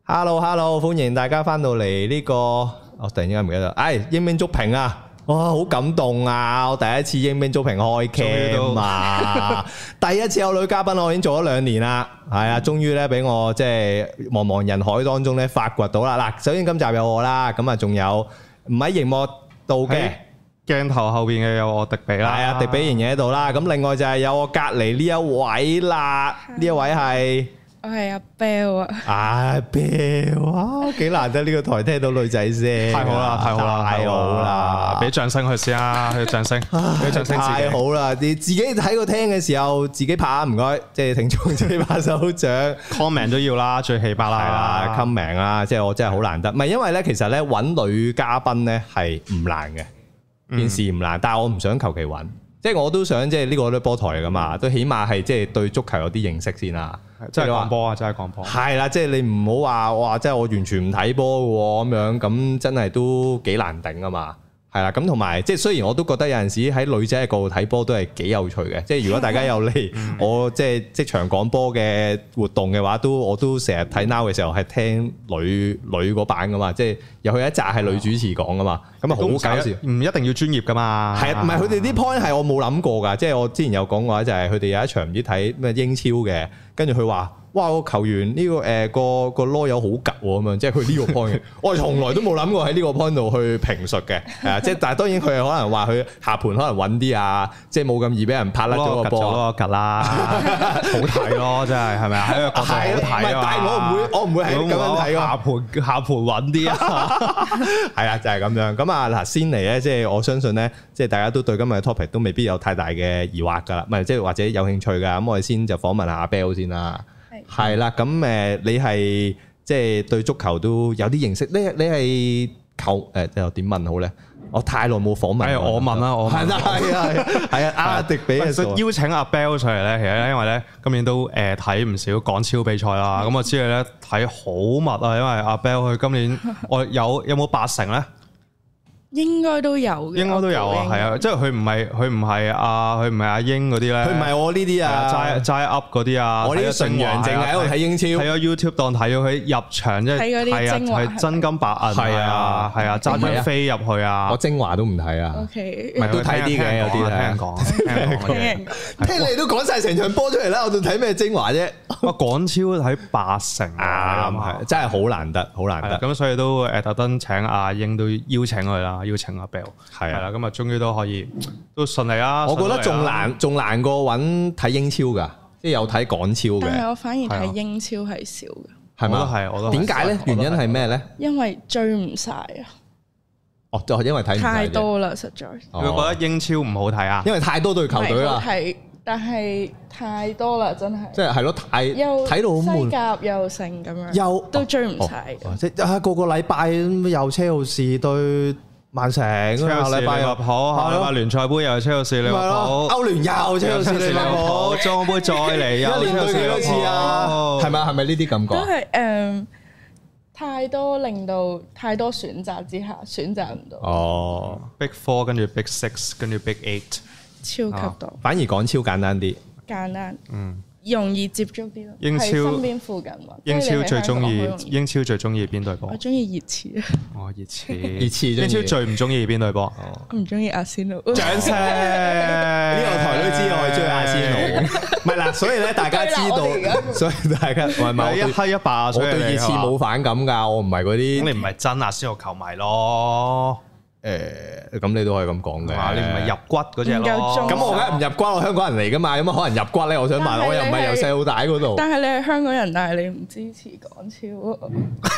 Hello， 歡迎大家翻到嚟呢個，我突然之間唔記得，鷹兵足評啊，哇，好感動啊！我第一次鷹兵足評開 cam 啊，第一次有女嘉賓，我已經做咗2年啦，係啊，終於咧俾我即係茫茫人海當中咧發掘到啦。嗱，首先今集有我啦，咁啊仲有唔喺熒幕度嘅鏡頭後邊嘅有我迪比啦， 係啊，迪比仍然喺度啦。咁另外就係有我隔離呢一位啦，呢一位係。 我係阿 Bell 啊！ 阿 Bell 啊，幾難得呢個台聽到女仔聲， 太好啦，太好啦！俾掌聲佢先啊，俾掌聲，俾掌聲！ 太好啦！你自己喺個聽嘅時候自己拍下，唔該，即係聽眾自己拍手掌 ，comment 都要啦，最起碼啦 ，comment 啦，即係我真係好難得，唔係因為咧，其實咧揾女嘉賓咧係唔難嘅，件事唔難，但係我唔想求其揾，即係我都想即係呢個都波台嚟噶嘛，都起碼係即係對足球有啲認識先啦。 即係講波啊！真係講波。係啦，即係你唔好話哇，即係我完全唔睇波嘅喎，咁樣咁真係都幾難頂啊嘛。係啦，咁同埋即係雖然我都覺得有陣時喺女仔嘅角度睇波都係幾有趣嘅。即係如果大家有嚟我即係即場講波嘅活動嘅話，我都成日睇 Now 嘅時候係聽女嗰版噶嘛。即係又去一集係女主持講噶嘛，咁啊好搞笑。 唔一定要專業噶嘛。係啊， 唔係佢哋啲 point 係我冇諗過㗎。即係我之前有講過就係佢哋有一場唔知睇咩英超嘅。跟住佢話：哇！個球員呢個個囉柚好吉喎咁樣，即係佢呢個 point，我係從來都冇諗過喺呢個 point 度去評述嘅，係啊！即係但係當然佢係可能話佢下盤可能穩啲啊，即係冇咁易俾人拍甩咗個波， 吉啦，好睇咯，真係係咪啊？喺個角度好睇啊！ 但係我唔會係咁樣睇㗎，下盤穩啲啊！ 係啊，就係咁樣。咁啊嗱，先嚟咧，即係我相信咧，即係大家都對今日嘅 topic 都未必有太大嘅疑惑㗎啦，唔係即係或者有興趣㗎。咁我哋先就訪問下阿 Bell 先啦。係啦，咁你係即係對足球都有啲認識，你係球又點問好咧？我太耐冇訪問， 我問啦，我係啊，阿迪比邀請阿 Bell 上嚟咧，其實咧因為咧今年都睇唔少港超比賽啦，咁我知你咧睇好密啊，因為阿 Bell 佢今年我有冇80咧？ 應該都有嘅， 應該都有啊，係啊，即係佢唔係阿英嗰啲咧， 佢唔係我呢啲啊， 齋 up 嗰啲啊， 我呢啲純陽淨喺度睇英超， 睇咗 YouTube 當睇咗佢入場，即係睇嗰啲精華， 係真金白銀，係啊，揸張飛入去啊， 我精華都唔睇啊 ，OK， 都睇啲嘅，有啲聽講， 聽你都講晒成場波出嚟啦，我仲睇咩精華啫？ 我港超睇80啊， 係真係好難得，好難得， 咁所以都特登請阿英都邀請佢啦。邀請阿 Bell 係啦，咁啊，終於都可以都順利啦。 我覺得仲難過揾睇英超㗎，即係有睇港超嘅。 但係我反而睇英超係少嘅， 係咪？我都點解咧？原因係咩咧？ 因為追唔晒啊！ 哦，就係因為睇唔晒太多啦，實在。 你覺得英超唔好睇啊？ 因為太多隊球隊啦。 係，但係太多啦，真係。 即係咯，睇到好悶。 西甲又成咁樣，都追唔晒。 即係個禮拜又車路士對曼城，下禮拜又下禮拜聯賽杯又係車路士利物浦， 歐聯又車路士利物浦， 莊杯再嚟又一年對幾多次啊？係咪呢啲感覺？ 都係太多令到太多選擇之下選擇唔到。 哦，Big Four 跟住 Big Six 跟住 Big Eight， 超級多。 反而港超簡單啲， 簡單，容易接觸啲咯。 英超身邊附近喎。 英超最中意邊隊波？ 我中意熱刺啊！ 哦，熱刺。英超最唔中意邊隊波？ 我唔中意阿仙奴。 掌聲！呢個台都知我係中意阿仙奴。唔係嗱，所以咧大家知道，所以大家唔係一黑一白， 我對熱刺冇反感㗎，我唔係嗰啲。 咁你唔係真阿仙奴球迷咯？ 咁你都可以咁講嘅， 你唔係入骨嗰隻咯。 咁我梗係唔入骨，我香港人嚟噶嘛，有乜可能入骨咧？我想問，我又唔係由細到大嗰度。 但係你係香港人，但係你唔支持港超。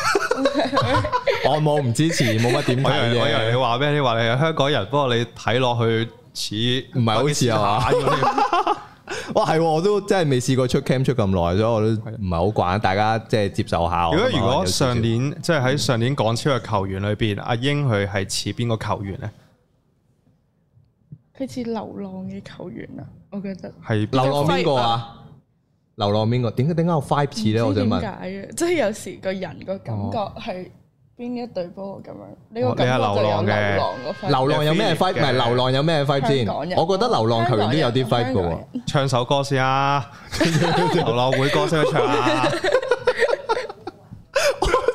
我冇唔支持，冇乜點睇嘅。 我以為你話咩？你話你係香港人，不過你睇落去似唔係好似啊嘛？哇，係，我都真係未試過出 cam 出咁耐，所以我都唔係好慣，大家即係接受下。 如果上年即係喺上年港超嘅球員裏邊，阿英佢係似邊個球員咧？ 佢似流浪嘅球員啊，我覺得係流浪邊個啊？流浪邊個？點解有 5 次咧？我想問。 點解嘅？即係有時個人個感覺係。邊一隊波咁樣？你個感覺就有流浪有咩 fight？ 唔係流浪有咩 fight 先？我覺得流浪球員都有啲 fight 嘅喎。 唱首歌先啊！流浪會歌先去唱啊！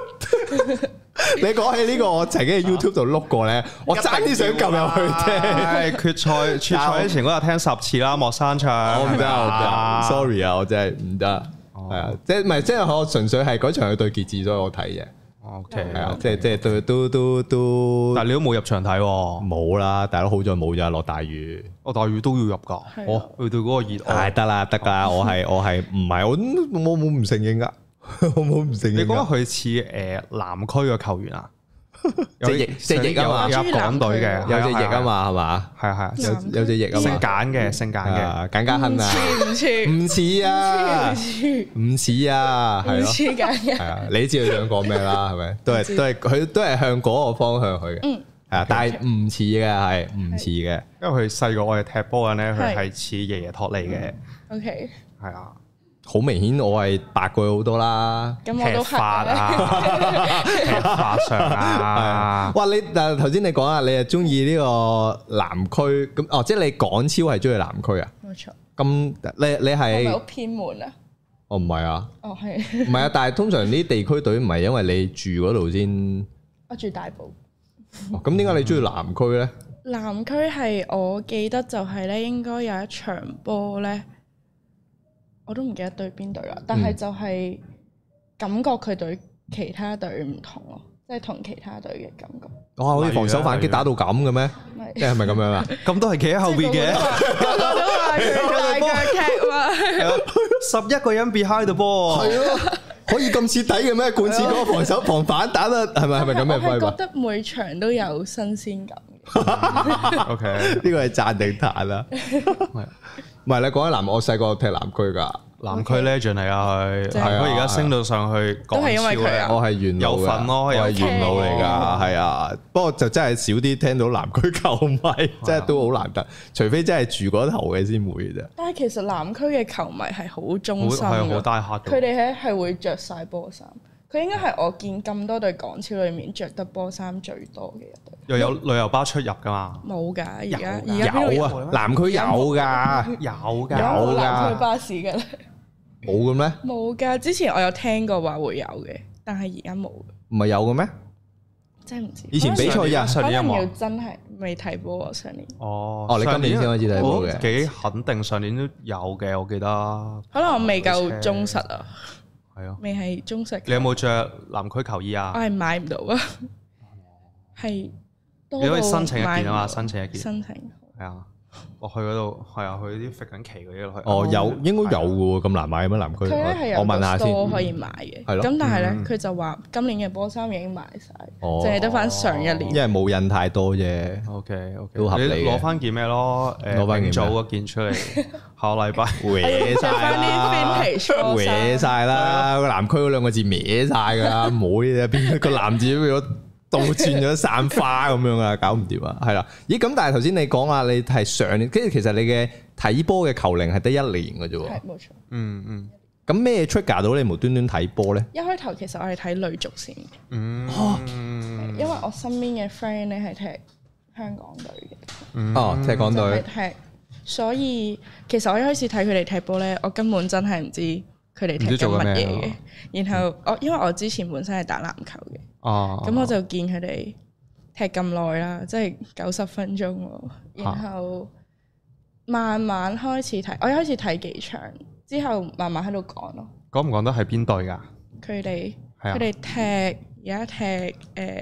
你講起呢個，我曾經喺 YouTube 度碌過咧，我爭啲想撳入去聽。 決賽之前嗰日聽10次啦，莫山唱。 我唔得，sorry 啊，我真係唔得。係啊，即係唔係即係我純粹係嗰場係對傑志，所以我睇嘅。 OK， 係啊，即係都。 但係你都冇入場睇喎。 冇啦，大佬好在冇咋，落大雨。 落大雨都要入㗎。哦，去到嗰個熱愛。 得啦，我係唔係我冇唔承認㗎。我冇唔承認。 你覺得佢似南區嘅球員啊？ 隻翼啊嘛， 有港隊嘅， 有隻翼啊嘛，係嘛？ 係有隻翼啊嘛。 姓簡嘅， 簡家亨啊，唔似啊，唔似啊，係咯，係啊，你知佢想講咩啦？係咪？都係佢都係向嗰個方向去嘅，係啊，但係唔似嘅，係唔似嘅， 因為佢細個我哋踢波嘅咧，佢係似爺爺托利嘅。 OK， 係啊。 好明顯，我係白過佢好多啦。 咁我都踢法啊，踢法上啊。 哇！你但係頭先你講啊，你係中意呢個南區咁哦，即係你港超係中意南區啊？ 冇錯。 咁你係係咪好偏門啊？ 哦，唔係啊。 哦，係。 唔係啊，但係通常啲地區隊唔係因為你住嗰度先。 我住大埔。 咁點解你中意南區咧？ 南區係我記得就係咧，應該有一場波咧。我都唔記得對邊隊啦，但係就係感覺佢對其他隊唔同咯，即係同其他隊嘅感覺。 哇！好似防守反擊打到咁嘅咩？即係咪咁樣啊？ 咁都係企喺後邊嘅， 個個都話佢大腳踢嘛。 11個人 behind the ball，係咯， 可以咁徹底嘅咩？貫徹嗰個防守防反打得係咪咁嘅規劃？ 我覺得每場都有新鮮感嘅。 OK， 呢個係讚定彈啦。唔係你講起南，我細個踢南區㗎， 南區 legend 嚟啊佢，佢而家升到上去港超咧， 我係元老嘅， 有份咯， 我係元老嚟㗎，係啊。不過就真係少啲聽到南區球迷，真係都好難得，除非真係住嗰頭嘅先會嘅啫。 但係其實南區嘅球迷係好忠心嘅，好大客。 佢哋係會着晒波衫。佢應該係我見咁多隊港超裏面着得波衫最多嘅一隊。 又有旅遊巴出入㗎嘛？ 冇㗎，而家有啊，南區有㗎， 有㗎， 有南區巴士㗎咧。 冇嘅咩？ 冇㗎，之前我有聽過話會有嘅，但係而家冇。 唔係有嘅咩？ 真係唔知。 以前比賽日可能要真係未睇波喎上年。 哦， 你今年先開始睇波嘅？ 幾肯定上年都有嘅，我記得。 可能我未夠忠實啊。 係啊， 未係忠實。 你有冇着南區球衣啊？ 我係買唔到啊，係你可以申請一件啊嘛，申請一件。 申請係啊，我去嗰度係啊，去啲揈緊旗嗰啲落去。 哦，有應該有嘅喎，咁難買咩南區？ 佢咧係有我問下先， 可以買嘅。 係咯。 咁但係咧，佢就話今年嘅波衫已經賣晒，淨係得翻上一年。 因為冇印太多啫。 OK， 都合理嘅。 你攞翻件咩咯？攞翻件早嗰件出嚟，下個禮拜搲晒啦，搲晒啦！個南區嗰兩個字歪晒㗎啦，冇呢啲邊個南字變咗倒轉咗散花咁樣啊，搞唔掂啊，係啦。咦？咁但係頭先你講啊，你係上年，跟住其實你嘅睇波嘅球齡係得1年嘅啫喎。 係冇錯。 嗯。 咁咩 trigger 到你無端端睇波咧？ 一開頭其實我係睇女足先。因為我身邊嘅 friend 咧係踢香港隊嘅。 踢港隊。 踢，所以其實我一開始睇佢哋踢波咧，我根本真係唔知佢哋踢緊乜嘢嘅。然後因為我之前本身係打籃球嘅。咁我就見佢哋踢咁耐啦，即係90分鐘喎。然後慢慢開始睇，我一開始睇幾場，之後慢慢喺度講咯。講唔講得係邊隊㗎？ 佢哋踢而家踢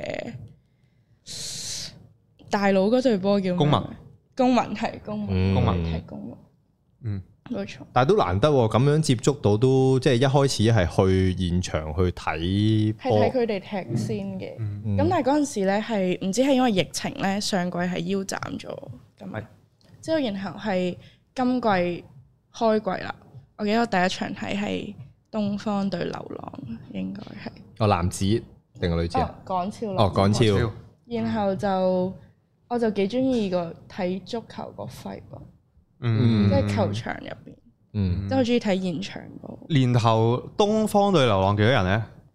大佬嗰隊波叫咩？公民係公民，係公民。冇錯， 但係都難得喎，咁樣接觸到都即係一開始係去現場去睇， 係睇佢哋踢先嘅。咁但係嗰陣時咧係唔知係因為疫情咧，上季係腰斬咗，咁之後然後係今季開季啦。我記得我第一場睇係東方對流浪，應該係男子定係女子啊？ 港超港超。 然後我就幾中意個睇足球個 vibe 咯。即係球場入邊，即係好中意睇現場波。 年頭東方對流浪幾多人咧？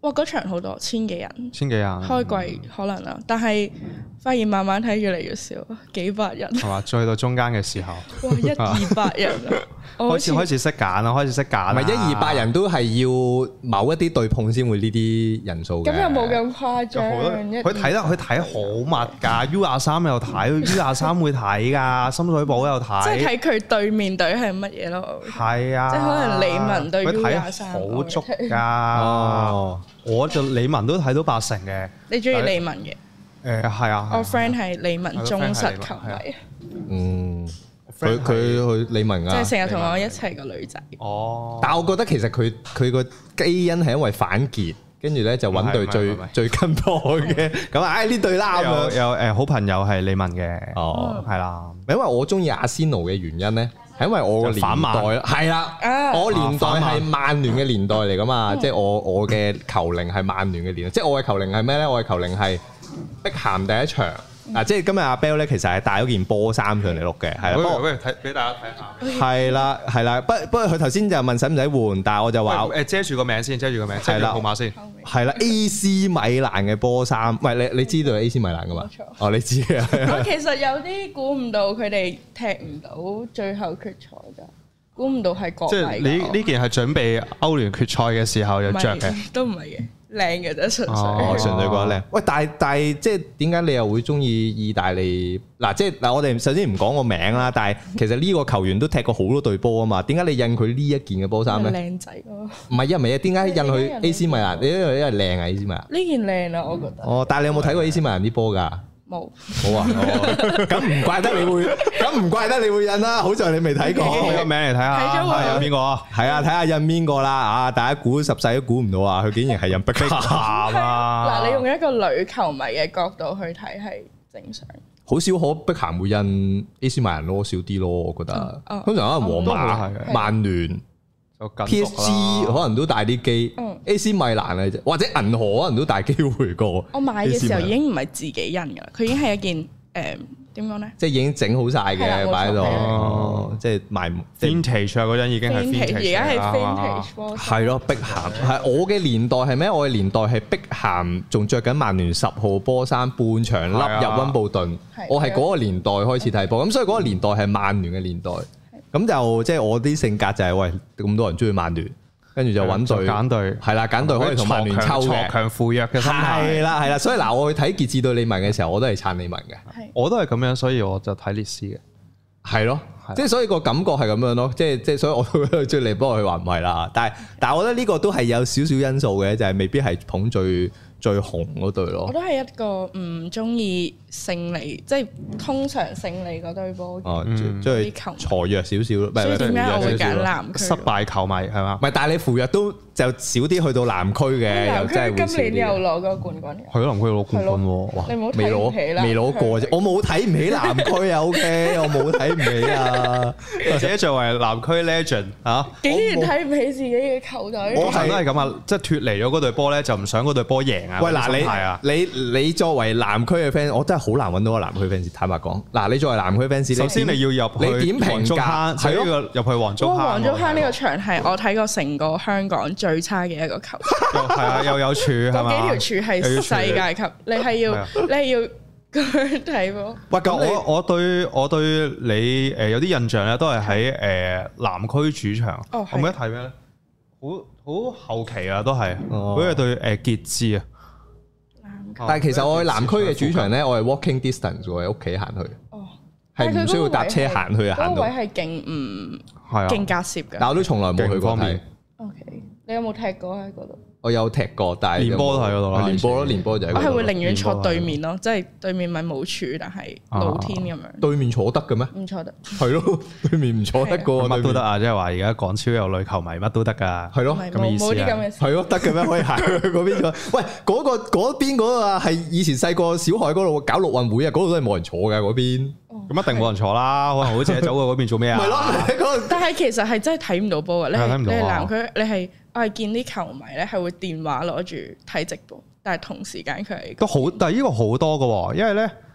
哇！嗰場好多千幾人，開季可能啦，但係發現慢慢睇越嚟越少，幾百人係嘛？再去到中間嘅時候， 哇！100-200人啊！ 開始識揀啦，開始識揀。 唔係100-200人都係要某一啲對碰先會呢啲人數嘅。 咁又冇咁誇張。 佢睇好密㗎，U23又睇，U23會睇㗎，深水埗又睇。 即係睇佢對面隊係乜嘢咯？ 係啊， 即係可能李文對 U23。 佢睇好足㗎。哦，我就李文都睇到80%嘅。 你中意李文嘅？ 係啊。 我 friend 係李文忠實球迷。 嗯。佢去李文啊， 即係成日同我一齊個女仔。 哦， 但係我覺得其實佢個基因係因為反傑，跟住咧就揾隊最跟波嘅。咁啊，呢隊啦咁樣。 有好朋友係李文嘅。 哦， 係啦。 因為我中意阿仙奴嘅原因咧，係因為我個年代係啦，我年代係曼聯嘅年代嚟噶嘛，即係我嘅球齡係曼聯嘅年代。即係我嘅球齡係咩咧？我嘅球齡係碧咸第一場。嗱，即係今日阿 Bell 咧，其實係帶咗件波衫上嚟錄嘅，係啦。 不如睇俾大家睇下。 係啦，不過佢頭先就問使唔使換，但係我就話遮住個名先，遮住號碼先。 係啦 ，AC 米蘭嘅波衫，喂，你知道 AC 米蘭噶嘛？哦，你知啊。 我其實有啲估唔到佢哋踢唔到最後決賽㗎，估唔到係國米。 即係你呢件係準備歐聯決賽嘅時候有着嘅， 都唔係嘅。靚嘅啫，純粹。 純粹覺得靚。喂，但係即係點解你又會中意意大利？嗱，即係嗱，我哋首先唔講個名啦，但係其實呢個球員都踢過好多隊波啊嘛。點解你印佢呢一件嘅波衫咧？ 靚仔咯。 唔係啊，點解印佢 AC 米蘭？因為靚啊 AC 米蘭。呢件靚啊，我覺得。 哦，但係你有冇睇過 AC 米蘭啲波㗎？ 冇啊，咁唔怪得你會印啦。好在你未睇過， 個名嚟睇下， 睇咗喎。 印邊個啊？ 係啊，睇下印邊個啦。啊，大家估十世都估唔到啊！佢竟然係印碧咸啊！ 嗱，你用一個女球迷嘅角度去睇係正常。 好少可碧咸會印 AC 米蘭咯，少啲咯，我覺得。通常可能皇馬、曼聯、PSG 可能都大啲機。AC 米蘭嘅啫，或者銀河可能都大機會過。 我買嘅時候已經唔係自己印㗎啦，佢已經係一件點講咧？ 即係已經整好晒嘅，擺喺度，即係賣 vintage 啊！嗰陣已經係 vintage， 而家係 vintage 波。 係咯，碧咸係我嘅年代係咩？我嘅年代係碧咸仲着緊曼聯10號波衫，半場笠入溫布頓。我係嗰個年代開始睇波，咁所以嗰個年代係曼聯嘅年代。咁就即係我啲性格就係喂，咁多人中意曼聯。跟住就揾隊揀隊，係啦，揀隊可以同曼聯抽嘅， 強扶弱嘅心態。 係啦，所以嗱，我去睇傑志對利文嘅時候，我都係撐利文嘅。 我都係咁樣，所以我就睇列斯嘅。 係咯，即係所以個感覺係咁樣咯，即係所以我都追利，不過佢話唔係啦。但係我覺得呢個都係有少少因素嘅，就係未必係捧最紅嗰隊咯。 我都係一個唔中意勝利，即係通常勝利嗰隊波。 哦，即係挫弱少少咯。 所以點解我會揀南區？ 失敗球迷係嘛？ 唔係，但係你扶弱都就少啲去到南區嘅，又真係會少啲。 今年又攞個冠軍。 係咯，南區攞冠軍喎。 你冇睇唔起啦？ 未攞過啫，我冇睇唔起南區啊。OK，我冇睇唔起啊。 自己作為南區 legend 嚇， 竟然睇唔起自己嘅球隊。 我係都係咁啊，即係脫離咗嗰隊波咧，就唔想嗰隊波贏啊。 喂，嗱你作為南區嘅 fans，我真係好難揾到個南區 fans。坦白講，嗱你作為南區 fans， 首先你要入去， 你點評價？ 係咯，入去黃竹坑。 黃竹坑呢個場係我睇過成個香港最差嘅一個球場。 係啊，又有柱係嘛？ 嗰幾條柱係世界級，你係要咁樣睇喎。 喂，咁我對你有啲印象咧，都係喺南區主場。我記得睇咩咧？好後期啊，都係好似對傑志啊。 但係其實我去南區嘅主場咧，我係 walking distance 喎，喺屋企行去。哦，係唔需要搭車行去啊，行到。 嗰位係勁唔勁隔涉㗎。 但我都從來冇去過睇。 OK，你有冇踢過喺嗰度？ 我有踢過，但係練波都喺嗰度啦。 練波就喺嗰度。 我係會寧願坐對面咯，即係對面咪冇柱，但係露天咁樣。 對面坐得嘅咩？ 唔坐得。 係咯，對面唔坐得個乜都得啊！即係話而家港超有女球迷乜都得㗎。 係咯， 咁嘅意思啊。冇啲咁嘅事。 係咯，得嘅咩？可以行去嗰邊個？喂，嗰邊嗰個啊，係以前細個小海嗰度搞陸運會啊，嗰度都係冇人坐㗎嗰邊。 咁一定冇人坐啦，可能好似走過嗰邊做咩啊？ 係咯， 但係其實係真係睇唔到波㗎。你係南區，我係見啲球迷咧係會電話攞住睇直播，但係同時間佢係都好，但係呢個好多㗎喎，因為咧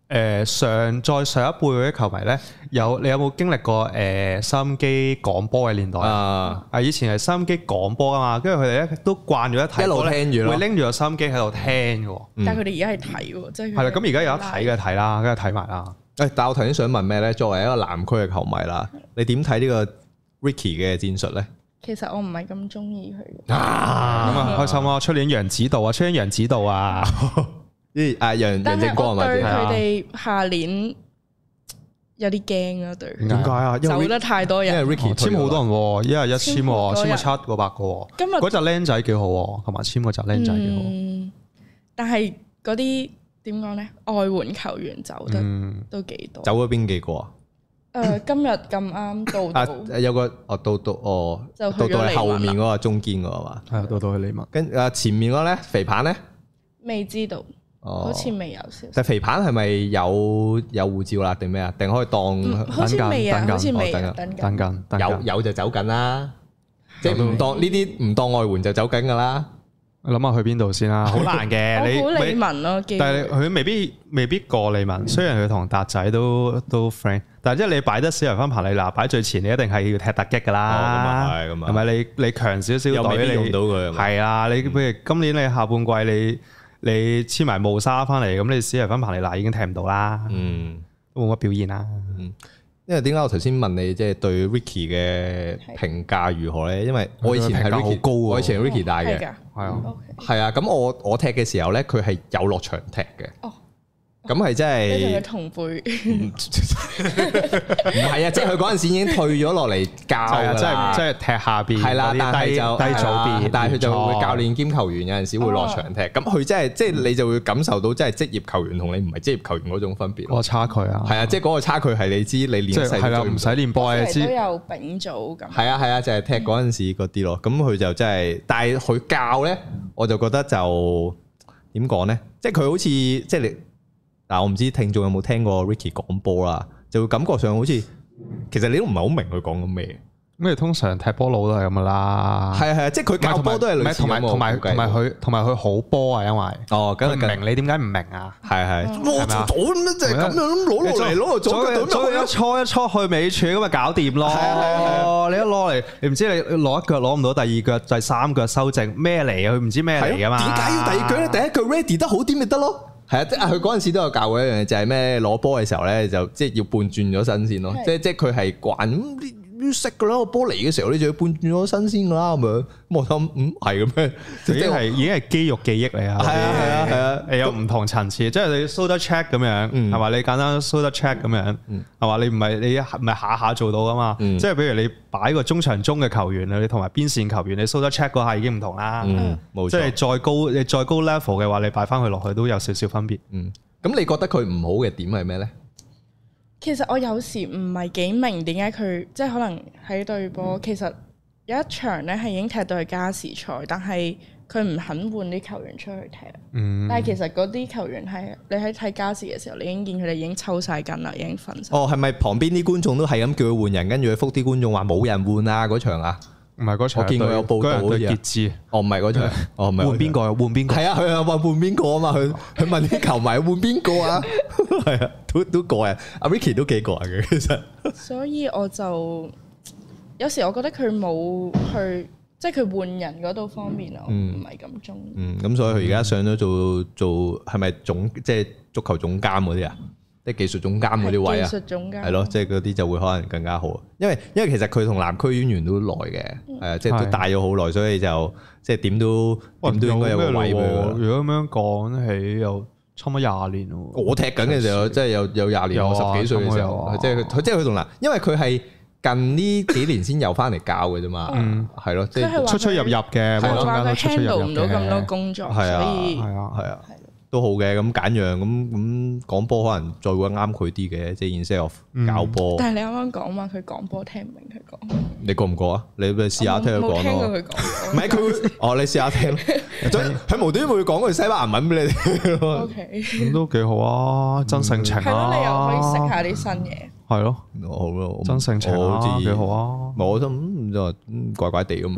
再上一輩嗰啲球迷咧，你有冇經歷過收音機廣播嘅年代啊？以前係收音機廣播啊嘛，跟住佢哋咧都慣咗一睇， 一路聽住咯， 會拎住個收音機喺度聽嘅。 但係佢哋而家係睇喎，即係係啦。咁而家有得睇嘅睇啦，跟住睇埋啦。 但係我頭先想問咩咧？作為一個南區嘅球迷啦，你點睇呢個 Ricky 嘅戰術咧？ 其實我唔係咁中意佢。 咁啊開心啊！出年楊指導啊！ 楊正光係咪？ 對佢哋下年有啲驚啊！對， 點解啊？ 走得太多人， 因為 Ricky 簽好多人喎，一日一簽喎，簽咗700個。今日嗰隻僆仔幾好喎，同埋簽嗰隻僆仔幾好。但係嗰啲點講咧？外援球員走得都幾多。 走咗邊幾個啊？ 今日咁啱到有個到係後面嗰個中堅個係嘛？ 係到去利物。 跟前面嗰個咧肥棒咧？ 未知道。好似未有消息。 但肥棒係咪有護照啦？定咩啊？定可以當？ 好似未啊，好似未等緊。 有就走緊啦，即係唔當呢啲唔當外援就走緊㗎啦。 諗下去邊度先啦，好難嘅。你好利文咯， 但係佢未必過利文。雖然佢同達仔都 friend，但係即係你擺得史提芬彭利拿擺最前，你一定係要踢突擊㗎啦。咁係咪你強少少隊你用到佢？係啊，你譬如今年你下半季你簽埋慕沙翻嚟，咁你史提芬彭利拿已經踢唔到啦，都冇乜表現啦。 因為點解我頭先問你即係對 Ricky 嘅評價如何咧？因為我以前係 Ricky 好高，我以前係 Ricky 帶嘅，係啊。咁我踢嘅時候咧，佢係有落場踢嘅。咁係真係， 你同佢同輩， 唔係啊！即係佢嗰陣時已經退咗落嚟教㗎， 即係踢下邊， 係啦，但係就低組別， 但係佢就會教練兼球員有陣時會落場踢，咁佢真係即係你就會感受到真係職業球員同你唔係職業球員嗰種分別， 個差距啊， 係啊，即係嗰個差距係你知你練細係啦， 唔使練波你知都有丙組咁， 係啊，就係踢嗰陣時嗰啲咯，咁佢就真係，但係佢教咧，我就覺得就點講咧，即係佢好似即係你。嗱，我唔知聽眾有冇聽過 Ricky 講波啦，就會感覺上好似其實你都唔係好明佢講緊咩。咁你通常踢波佬都係咁噶啦。係，即係佢教波都係類似咁。同埋佢好波啊，因為佢唔明你點解唔明啊？係攞咗咁樣就係咁樣攞落嚟，攞落咗一搓去尾柱咁咪搞掂咯。係你一攞嚟，你唔知你攞一腳攞唔到，第二腳、第三腳修正咩嚟啊？佢唔知咩嚟噶嘛？點解要第二腳咧？第一腳 ready 得好啲咪得咯？係啊，即係佢嗰陣時都有教過一樣嘢，就係咩攞波嘅時候咧，就即係要半轉咗身先咯。即係佢係慣咁識噶啦，個波嚟嘅時候你就要半轉咗身先噶啦咁樣。我諗係咁樣，已經係肌肉記憶嚟啊。係啊，有唔同層次，即係你 shoulder check 咁樣，係嘛？你簡單 shoulder check 咁樣，係嘛？你唔係下下做到噶嘛？即係譬如你擺個中場中嘅球員啊，你同埋邊線球員，你 shoulder check 嗰下已經唔同啦。冇錯，即係你再高 level 嘅話，你擺翻佢落去都有少少分別。咁你覺得佢唔好嘅點係咩咧？ 其實我有時唔係幾明點解佢即係可能喺對波，其實有一場咧係已經踢到去加時賽，但係佢唔肯換啲球員出去踢。但係其實嗰啲球員係你喺睇加時嘅時候，你已經見佢哋已經抽晒筋啦，已經瞓晒。係咪旁邊啲觀眾都係咁叫佢換人，跟住佢覆啲觀眾話冇人換啊嗰場啊？唔係嗰場，我見過有報道好似傑志。唔係嗰場，唔係換邊個？換邊個？係啊，佢話換邊個啊嘛？佢問啲球迷換邊個啊？係啊，都過癮。阿 Ricky 都幾過癮嘅，其實。所以我就有時我覺得佢冇去，即係佢換人嗰度方面，我唔係咁中意。咁所以佢而家上咗做係咪總即係足球總監嗰啲啊？即係技術總監嗰啲位啊，係咯，即係嗰啲就會可能更加好。因為其實佢同南區淵源都耐嘅，係啊，即係都帶咗好耐，所以就即係點都應該有個位俾佢。如果咁樣講起，又差唔多20年咯。我踢緊嘅時候，即係有20年，我10幾歲嘅時候，即係佢同南，因為佢係近呢幾年先有翻嚟教嘅啫嘛，係咯，即係出入嘅，中間都出入唔到咁多工作，所以係啊。都好嘅，咁簡約咁講波可能再會啱佢啲嘅，即係 instead of 教波。但係你啱啱講話佢講波聽唔明佢講，你覺唔覺啊？你咪試下聽佢講咯。冇聽過佢講。唔係佢，你試下聽。佢無端端會講句西班牙文俾你聽。OK，咁都幾好啊，真性情啊。係咯，你又可以食下啲新嘢。係咯，好咯，真性情好似幾好啊。我覺得就怪怪地咁樣咯。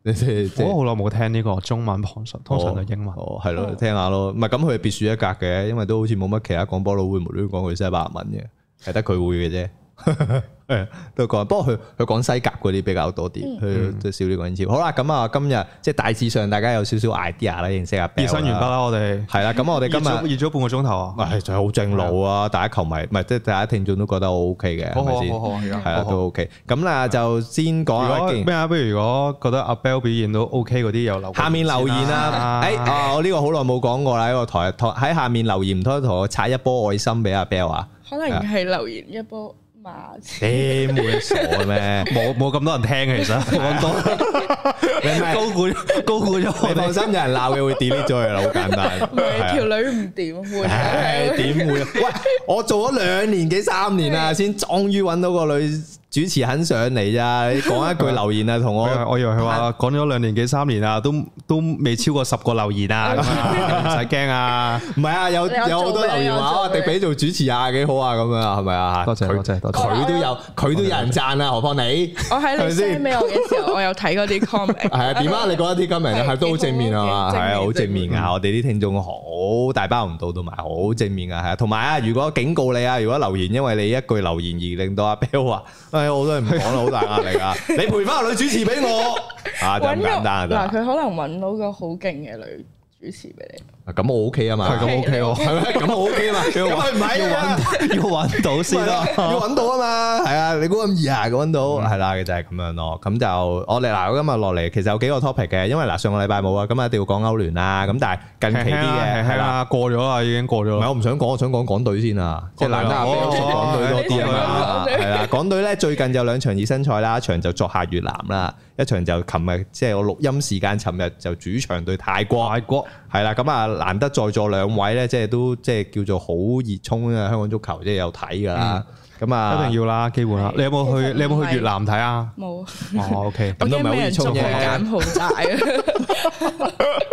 我好耐冇聽呢個中文旁述，通常都英文。 係咯，聽下咯。唔係咁，佢係別樹一格嘅，因為都好似冇乜其他廣播佬會無端端講佢西班牙文嘅，係得佢會嘅啫。都講，不過佢講西甲嗰啲比較多啲，佢都少啲講英超。好啦，咁啊，今日即係大致上大家有少少 idea 啦，認識下。 熱身完畢啦，我哋係啦，咁我哋今日熱咗半個鐘頭啊， 係就係好正路啊！大家球迷唔係即係大家聽眾都覺得我 OK 嘅，係咪先？係啊，都 OK。咁啦，就先講下咩啊？不如如果覺得阿 Bell 表現都 OK 嗰啲，又留下面留言啦。我呢個好耐冇講過啦，呢個台喺下面留言，唔通同我刷一波愛心俾阿 Bell 啊？ 可能係留言一波。 你冇傻咩？ 冇咁多人聽其實，冇咁多。你高估咗。 你放心，有人鬧嘅會 delete 咗佢啦，好簡單。 唔係條女唔掂會。 點會？喂，我做咗2年幾3年啦，先終於揾到個女主持肯上嚟咋？你講一句留言啊，同我以為佢話講咗2年幾3年啊，都未超過10個留言啊，唔使驚啊。 唔係啊，有好多留言話迪比做主持啊，幾好啊，咁樣係咪啊？ 多謝。 佢都有人讚啊，何況你？ 我喺你 send 俾我嘅時候，我有睇嗰啲 comment。係啊，點啊？你覺得啲 comment 係都好正面啊嘛？係啊，好正面啊！我哋啲聽眾好大包唔到，同埋好正面啊，係啊。同埋啊，如果警告你啊，如果留言因為你一句留言而令到阿 Bell 話，我都係唔講啦，好大壓力啊！你陪翻個女主持俾我啊，就咁簡單啊！ 嗱，佢可能揾到個好勁嘅女主持俾你。 咁我 OK 啊嘛， 係咁 OK 喎， 係咩？咁我 OK 啊嘛，唔係要揾到先咯，要揾到啊嘛，係啊，你估咁易啊？揾到係啦，就係咁樣咯。咁就我哋嗱，今日落嚟其實有幾個 topic 嘅，因為嗱上個禮拜冇啊，咁一定要講歐聯啦。咁但係近期啲嘅係啦， 過咗啦，已經過咗。 唔係我唔想講，我想講港隊先啊，即係難得阿 Bell 講港隊多啲啊嘛，係啦。港隊咧最近就2場熱身賽啦，一場就作客越南啦，一場就琴日即係我錄音時間，尋日就主場對泰國。係啦，咁啊難得在座2位咧，即係都即係叫做好熱衷啊！香港足球即係有睇噶啦，咁啊一定要啦，基本啦。你有冇去越南睇啊？ 冇。 哦，OK， 咁都唔係好熱衷嘅。柬埔寨啊！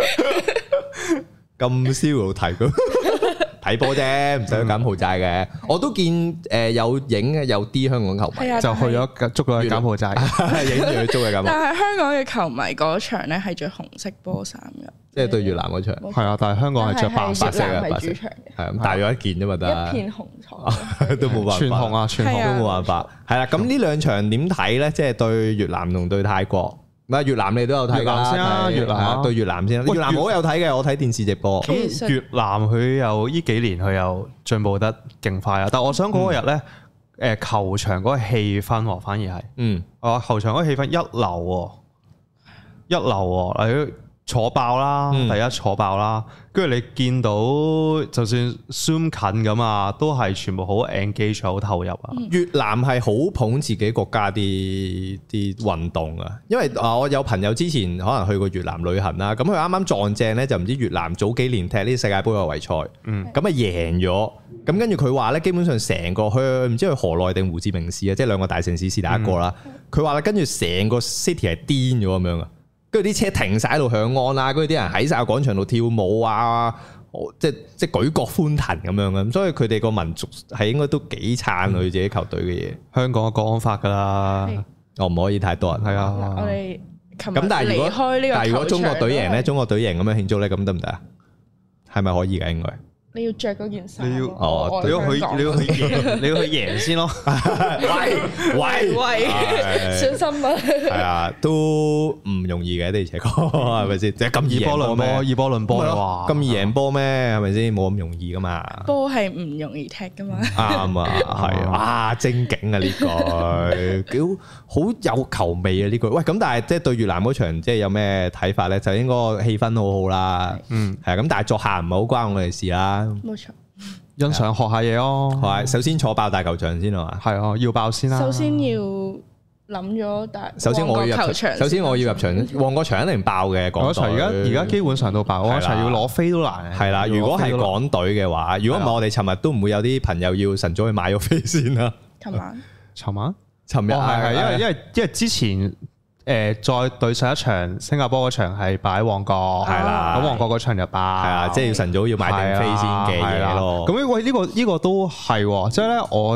咁燒睇佢睇波啫，唔使去柬埔寨嘅。我都見有影嘅，有啲香港球迷就去咗捉咗去柬埔寨， 影住去捉嘅柬埔寨。 但係香港嘅球迷嗰場咧係着紅色波衫嘅。 即係對越南嗰場， 係啊，但係香港係着白色嘅， 白色係咁帶咗一件啫嘛，得一片紅彩都冇辦法， 全紅啊，全紅都冇辦法。係啦，咁呢2場點睇咧？即係對越南同對泰國。唔係越南你都有睇㗎， 越南先啊，越南對越南先。越南我有睇嘅，我睇電視直播。 咁越南佢又呢幾年佢又進步得勁快啊！但係我想嗰日咧，球場嗰個氣氛喎，反而係，球場嗰個氣氛一流喎，一流喎，坐爆啦，第一坐爆啦，跟住你見到就算 zoom 近咁啊，都係全部好 engage 好投入啊。 越南係好捧自己國家啲運動啊，因為我有朋友之前可能去過越南旅行啦，咁佢啱啱撞正咧就唔知越南早幾年踢呢世界盃外圍賽，咁啊贏咗，咁跟住佢話咧基本上成個去唔知去河內定胡志明市啊，即係2個大城市是第一個啦。佢話咧跟住成個 city 係癲咗咁樣啊！跟住啲車停晒喺度響安啦，跟住啲人喺晒個廣場度跳舞啊，即係舉國歡騰咁樣嘅，咁所以佢哋個民族係應該都幾撐佢自己球隊嘅嘢。香港嘅國安法㗎啦，我唔可以太多人。係啊， 我哋琴日咁但係如果中國隊贏咧，中國隊贏咁樣慶祝咧，咁得唔得啊？係咪可以㗎？應該。 你要着嗰件衫， 你要去贏先咯。 喂， 小心啊！ 係啊，都唔容易嘅，的而且確係咪先？即係咁易贏波咩？ 以波論波啊！ 咁易贏波咩？係咪先？冇咁容易噶嘛。 波係唔容易踢噶嘛。 啱啊，係啊，精警啊呢句，好有球味啊呢句。喂，咁但係即係對越南嗰場，即係有咩睇法咧？就應該氣氛好好啦。係咁，但係作客唔係好關我哋事啦。 冇錯， 欣賞學下嘢咯。 係，首先坐爆大球場先係嘛？ 係啊，要爆先啦。 首先要諗咗首先我要入場。首先我要入場，旺角場一定爆嘅。港隊而家基本上都爆，旺角場要攞飛都難。 係啦，如果係港隊嘅話，如果唔係我哋尋日都唔會有啲朋友要晨早去買咗飛先啦。 尋日係因為之前。再對上一場新加坡嗰場係擺喺旺角，係啦，咁旺角嗰場就爆，係啊，即係要晨早要買定飛先嘅嘢咯。咁呢個都係，即係咧我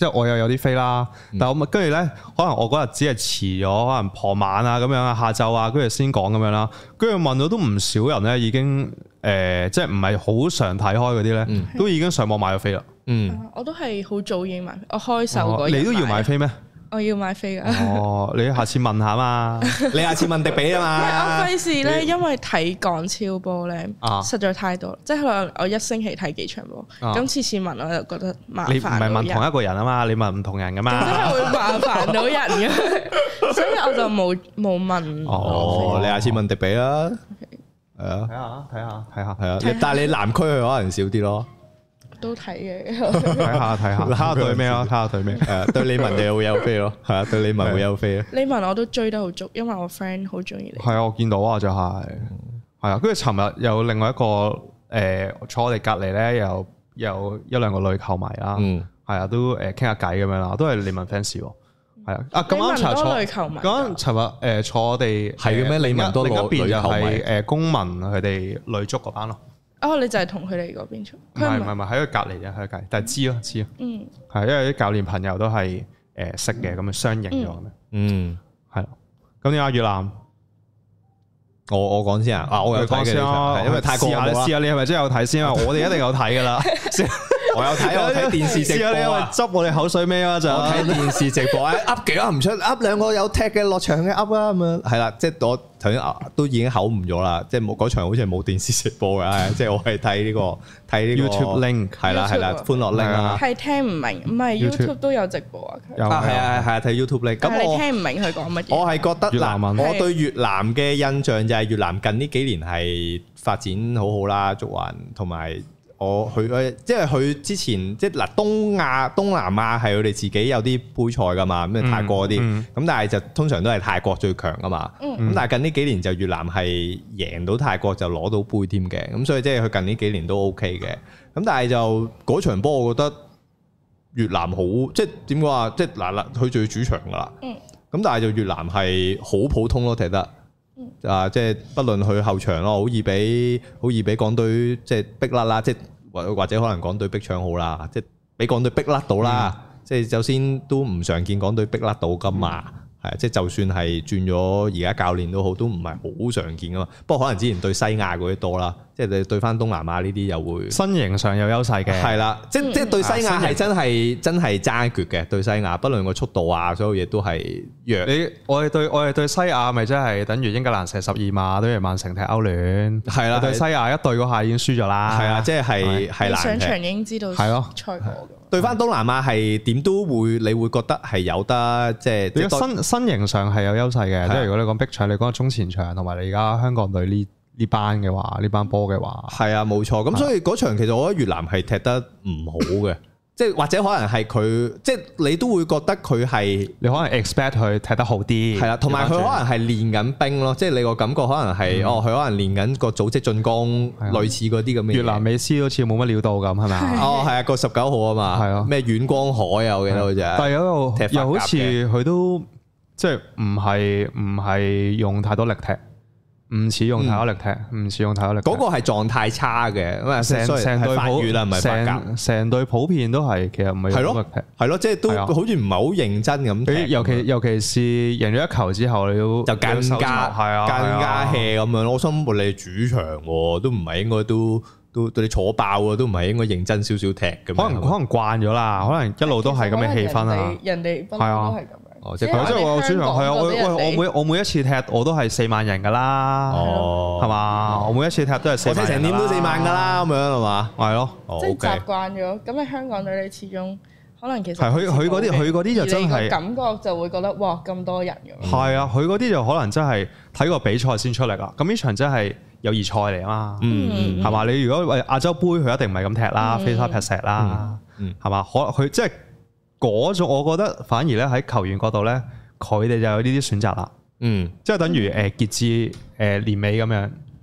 即係我又有啲飛啦，但係我跟住咧，可能我嗰日只係遲咗，可能傍晚啊咁樣啊，下晝啊，跟住先講咁樣啦。跟住問到都唔少人咧，已經即係唔係好常睇開嗰啲咧，都已經上網買咗飛啦。 我都係好早已經買，我開售嗰日。 你都要買飛咩？ 我要買飛噶。 你下次問下嘛， 你下次問迪比啊嘛。 我費事咧，因為睇港超波咧，實在太多，即係可能我一星期睇幾場波，咁次次問我就覺得麻煩。 你唔係問同一個人啊嘛，你問唔同人噶嘛。 真係會麻煩到人嘅，所以我就冇問。 你下次問迪比啦。係啊，睇下， 係啊。但係你南區去可能少啲咯。 都睇嘅， 睇下對咩咯？睇下對咩？ 對李文就會有飛咯，係啊，對李文會有飛咯。 李文我都追得好足，因為我 friend 好中意你。 係啊，我見到啊，就係啊，跟住尋日有另外一個坐我哋隔離咧，有一兩個女球迷啦，係啊，都傾下偈咁樣啦，都係李文 fans 喎，係啊，咁啱尋日坐我哋係嘅咩？李文多另一邊就係公民佢哋女足嗰班咯。 你就係同佢哋嗰邊出？ 唔係，喺佢隔離嘅，喺佢隔離，但係知咯。係因為啲教練朋友都係識嘅，咁啊相認咗咁係咯。咁點解越南？ 我講先啊！我有睇嘅，因為泰國試下你係咪真係有睇先啊？我哋一定有睇噶啦。 我有睇電視直播啊！ 執我哋口水尾啊！就睇電視直播，噏幾噏唔出，噏兩個有踢嘅落場嘅噏啦咁樣，係啦，即係我頭先都已經口誤咗啦，即係冇嗰場好似係冇電視直播嘅，即係我係睇呢個 YouTube link 係啦，歡樂 link 啊， 係聽唔明，唔係 YouTube 都有直播啊， 係啊睇 YouTube link，咁我聽唔明佢講乜嘢， 我係覺得嗱，我對越南嘅印象就係越南近呢幾年係發展好好啦，足環同埋。即係佢之前即係嗱東南亞係佢哋自己有啲杯賽噶嘛，咩泰國嗰啲，咁但係就通常都係泰國最強噶嘛，咁但係近呢幾年就越南係贏到泰國就攞到杯添嘅，咁所以即係佢近呢幾年都 OK 嘅，咁但係就嗰場波我覺得越南好，即係點講啊，即係嗱佢最主場噶啦，咁但係就越南係好普通咯踢得。即係不論去後場咯，好易俾港隊即係逼甩啦，即係或者可能港隊逼搶好啦，即係俾港隊逼甩到啦。即係首先都唔常見港隊逼甩到噶嘛，係即係就算係轉咗而家教練都好，都唔係好常見噶嘛。不過可能之前對西亞嗰啲多啦，即係你對翻東南亞呢啲又會身形上有優勢嘅，係啦，即係對西亞係真係爭一決嘅，對西亞，不論個速度啊，所有嘢都係弱。 我哋對西亞咪真係等於英格蘭射12碼，等於曼城踢歐聯，係啦。對西亞一對嗰下已經輸咗啦，係啊，即係難上場已經知道係咯賽果咁。 對翻東南亞係點都會，你會覺得係有得即係身形上係有優勢嘅，即係如果你講逼搶，你講中前場同埋你而家香港隊呢班嘅話，呢班波嘅話， 係啊，冇錯。咁所以嗰場其實我覺得越南係踢得唔好嘅，即係或者可能係佢，即係你都會覺得佢係你可能 expect 佢踢得好啲， 係啦，同埋佢可能係練緊兵咯，即係你個感覺可能係佢可能練緊個組織進攻，類似嗰啲咁嘅。 越南美斯好似冇乜料到咁，係咪啊？ 係啊，個19號啊嘛，係啊，咩遠光海啊，我記得好似。 但係又好似佢都即係唔係用太多力踢。唔似用太多力踢，唔似用太多力踢。 嗰個係狀態差嘅，咁啊成隊法語啦，唔係法甲。 成隊普遍都係其實唔係用力踢。 係咯，即係都好似唔係好認真咁踢。尤其是贏咗一球之後，你都就更加 hea 咁樣。我心諗你主場都唔係應該都對你坐爆啊，都唔係應該認真少少踢咁。可能慣咗啦，可能一路都係咁嘅氣氛啊。 人哋不嬲都係咁。 即係我主場係啊！我每一次踢我都係4萬人噶啦，係嘛？我每一次踢都係4萬人。我踢成點都4萬噶啦，咁樣係嘛？係咯， 即係習慣咗。咁你香港隊你始終可能其實係佢嗰啲就真係感覺就會覺得哇咁多人咁。 係啊，佢嗰啲就可能真係睇個比賽先出嚟啦。咁呢場真係友誼賽嚟啊嘛，係嘛？你如果亞洲杯佢一定唔係咁踢啦，飛沙劈石啦，係嘛？佢即係。嗰種我覺得反而咧喺球員角度咧，佢哋就有呢啲選擇啦。即係等於傑志年尾咁樣，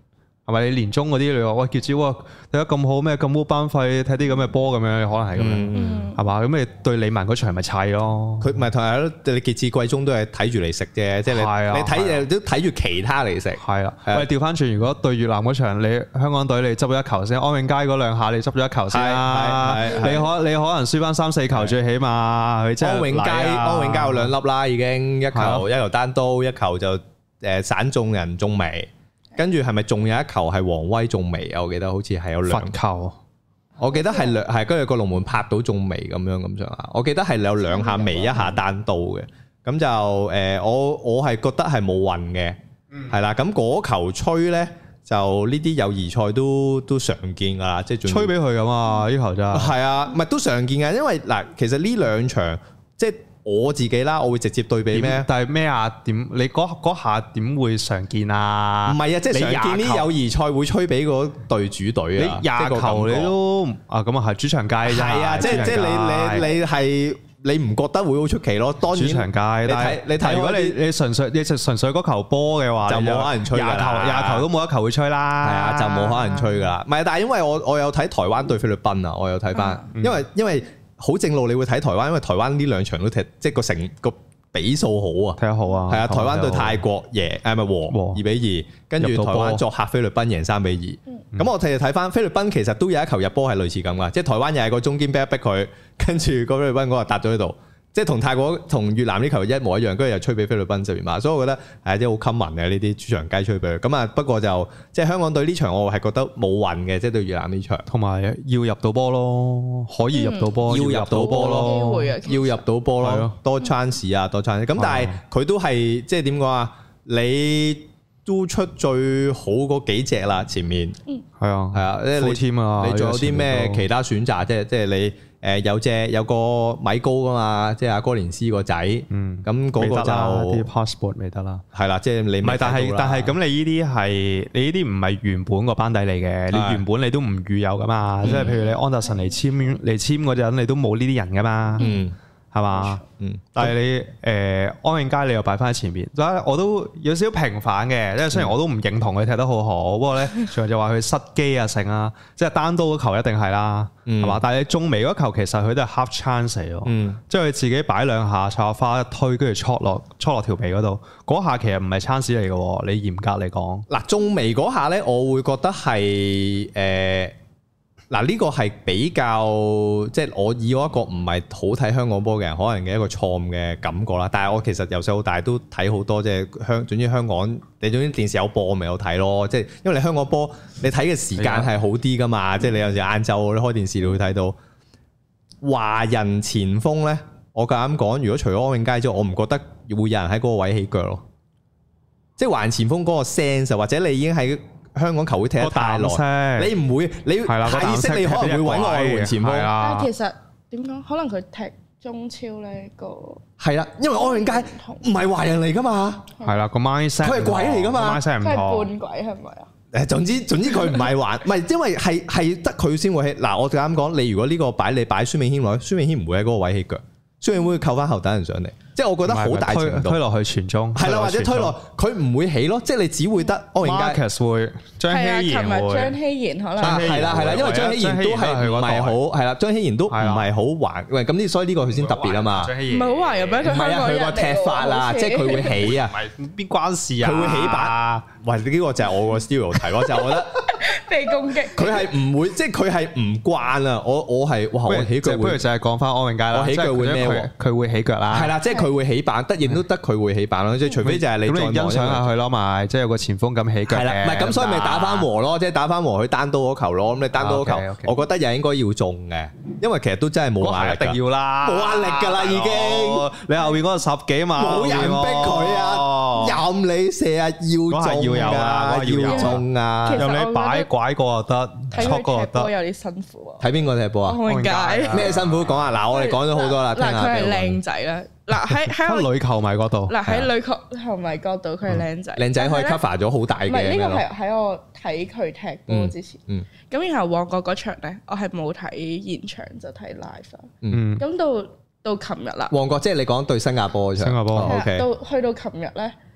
係咪？你年中嗰啲你話喂傑子喎睇得咁好咩咁烏班費睇啲咁嘅波咁樣，可能係咁樣係嘛？咁你對李文嗰場咪砌咯？ 佢唔係同埋你傑志季中都係睇住嚟食啫，即係你睇都睇住其他嚟食。係啊， 喂調翻轉，如果對越南嗰場你香港隊你執咗一球先，安永佳嗰兩下你執咗一球先啦。你可能輸翻3-4球最起碼。 安永佳有2粒啦，已經一球單刀，一球就散中人中楣。跟住係咪仲有一球係王威中楣啊？我記得好似係有2 球， 我記得係跟住個龍門拍到中楣咁上下。我記得係有2下楣，1下單刀嘅。咁就我係覺得係冇運嘅，係啦。咁嗰球吹咧，就呢啲友誼賽都常見㗎啦，即係吹俾佢㗎嘛，呢球真係。 係啊，唔係都常見㗎，因為嗱，其實呢兩場即係。我自己啦，我會直接對比咩？ 但係咩啊？點你嗰下點會常見啊？ 唔係啊，即係常見啲友誼賽會吹俾嗰隊主隊啊！ 你20球你都啊咁啊係主場街啫。 係啊，即係你係你唔覺得會好出奇咯？當然主場街，你睇如果你純粹嗰球波嘅話， 就冇可能吹㗎啦。 20球都冇一球會吹啦。 係啊，就冇可能吹㗎啦。唔係，但係因為我有睇台灣對菲律賓啊，我有睇翻，因為。好正路，你會睇台灣，因為台灣呢兩場都踢，即係個比數好啊， 踢得好啊。 係啊，台灣對泰國贏，咪和2-2，跟住台灣作客菲律賓贏3-2。咁我哋睇翻菲律賓，其實都有一球入波係類似咁噶，即係台灣又係個中堅逼一逼佢，跟住個菲律賓嗰個搭咗喺度。即係同泰國同越南呢球一模一樣，跟住又吹俾菲律賓這邊嘛，所以我覺得係啲好 common 嘅呢啲主場雞吹俾佢。咁啊，不過就即係香港隊呢場，我係覺得冇運嘅，即係對越南呢場， 同埋要入到波咯，可以入到波， 要入到波咯，要入到波咯， 的多 chance 啊，多 chance。咁但係佢都係即係點講啊？你都出最好嗰幾隻啦，前面係啊係啊，你仲有啲咩其他選擇？即係你。有個米高噶嘛，即係阿哥連斯個仔，咁嗰個就啲 passport 未得啦， 係啦，即係你唔係，但係咁，你呢啲唔係原本個班底嚟嘅，你原本你都唔預有噶嘛，即係譬如你安達臣嚟簽嗰陣，你都冇呢啲人噶嘛，係嘛？但係你安永佳你又擺翻喺前邊，我都有少少平反嘅，因為雖然我都唔認同佢踢得好好，不過咧，仲就話佢失機啊成啊，即係單刀嗰球一定係啦，係嘛？但係你中楣嗰球其實佢都係 half chance 嚟咯，即係佢自己擺2下插花一推，跟住戳落條皮嗰度，嗰下其實唔係 chance 嚟嘅，你嚴格嚟講。嗱，中楣嗰下咧，我會覺得係嗱，呢個係比較即係我以我一個唔係好睇香港波嘅人，可能嘅一個錯誤嘅感覺啦。但係我其實由細到大都睇好多，即係總之香港，你總之電視有播我咪有睇咯。即係因為你香港波，你睇嘅時間係好啲噶嘛。即係你有時晏晝你開電視你會睇到華人前鋒咧。我夠膽講，如果除咗安永佳之外，我唔覺得會有人喺嗰個位起腳咯。即係華人前鋒嗰個 sense，或者你已經喺香港球會踢得太耐，你唔會，你下意識你可能會揾個外援前鋒。 但係其實點講？可能佢踢中超咧個係啦，因為安永佳唔係華人嚟噶嘛。 係啦，個 mindset 佢係鬼嚟噶嘛。 佢係半鬼係咪啊？ 誒，總之佢唔係華，唔係因為係得佢先會起。嗱，我就咁講，你如果呢個你擺孫銘軒落去，孫銘軒唔會喺嗰個位起腳，孫銘軒會扣翻後等人上嚟。即係我覺得好大程度推落去傳中， 係啦，或者推落佢唔會起咯，即係你只會得安永佳 Marcus 會張希賢會， 張希賢可能係啦，因為張希賢都係唔係好係啦，張希賢都唔係好還喂咁所以呢個佢先特別啊嘛， 唔係好還入咩？佢佢個踢法啊，即係佢會起啊， 邊關事啊？ 佢會起板，喂呢個就係我個 stereotype 咯，就我覺得被攻擊， 佢係唔會，即係佢係唔慣啊！我係哇，我起腳不如就係講翻安永佳啦， 我起腳會咩？ 佢會起腳啦， 係啦，即係佢會起板，都得佢會起板咯，即係除非就係你再欣賞下佢咯，咪即係有個前鋒咁起腳嘅。係啦， 唔係咁，所以咪打翻和咯，即係打翻和佢單刀嗰球咯。咁你單刀嗰球，我覺得又應該要中嘅，因為其實都真係冇壓力， 一定要啦， 冇壓力㗎啦已經。 你後邊嗰個10幾嘛， 冇人逼佢啊，任你射啊，要中㗎，要中啊， 任你擺拐過又得，錯過又得。 有啲辛苦啊。 睇邊個踢波啊？ 安永佳咩辛苦講啊？嗱，我哋講咗好多啦。 嗱，佢係靚仔啦。嗱喺女球迷嗰度， 嗱喺女球迷角度，佢係靚仔， 靚仔可以 cover 咗好大嘅。 唔係呢個係喺我睇佢踢波之前，咁然後旺角嗰場咧，我係冇睇現場就睇 live。咁到琴日啦， 旺角即係你講對新加坡嗰場， 新加坡 OK。 去到琴日咧，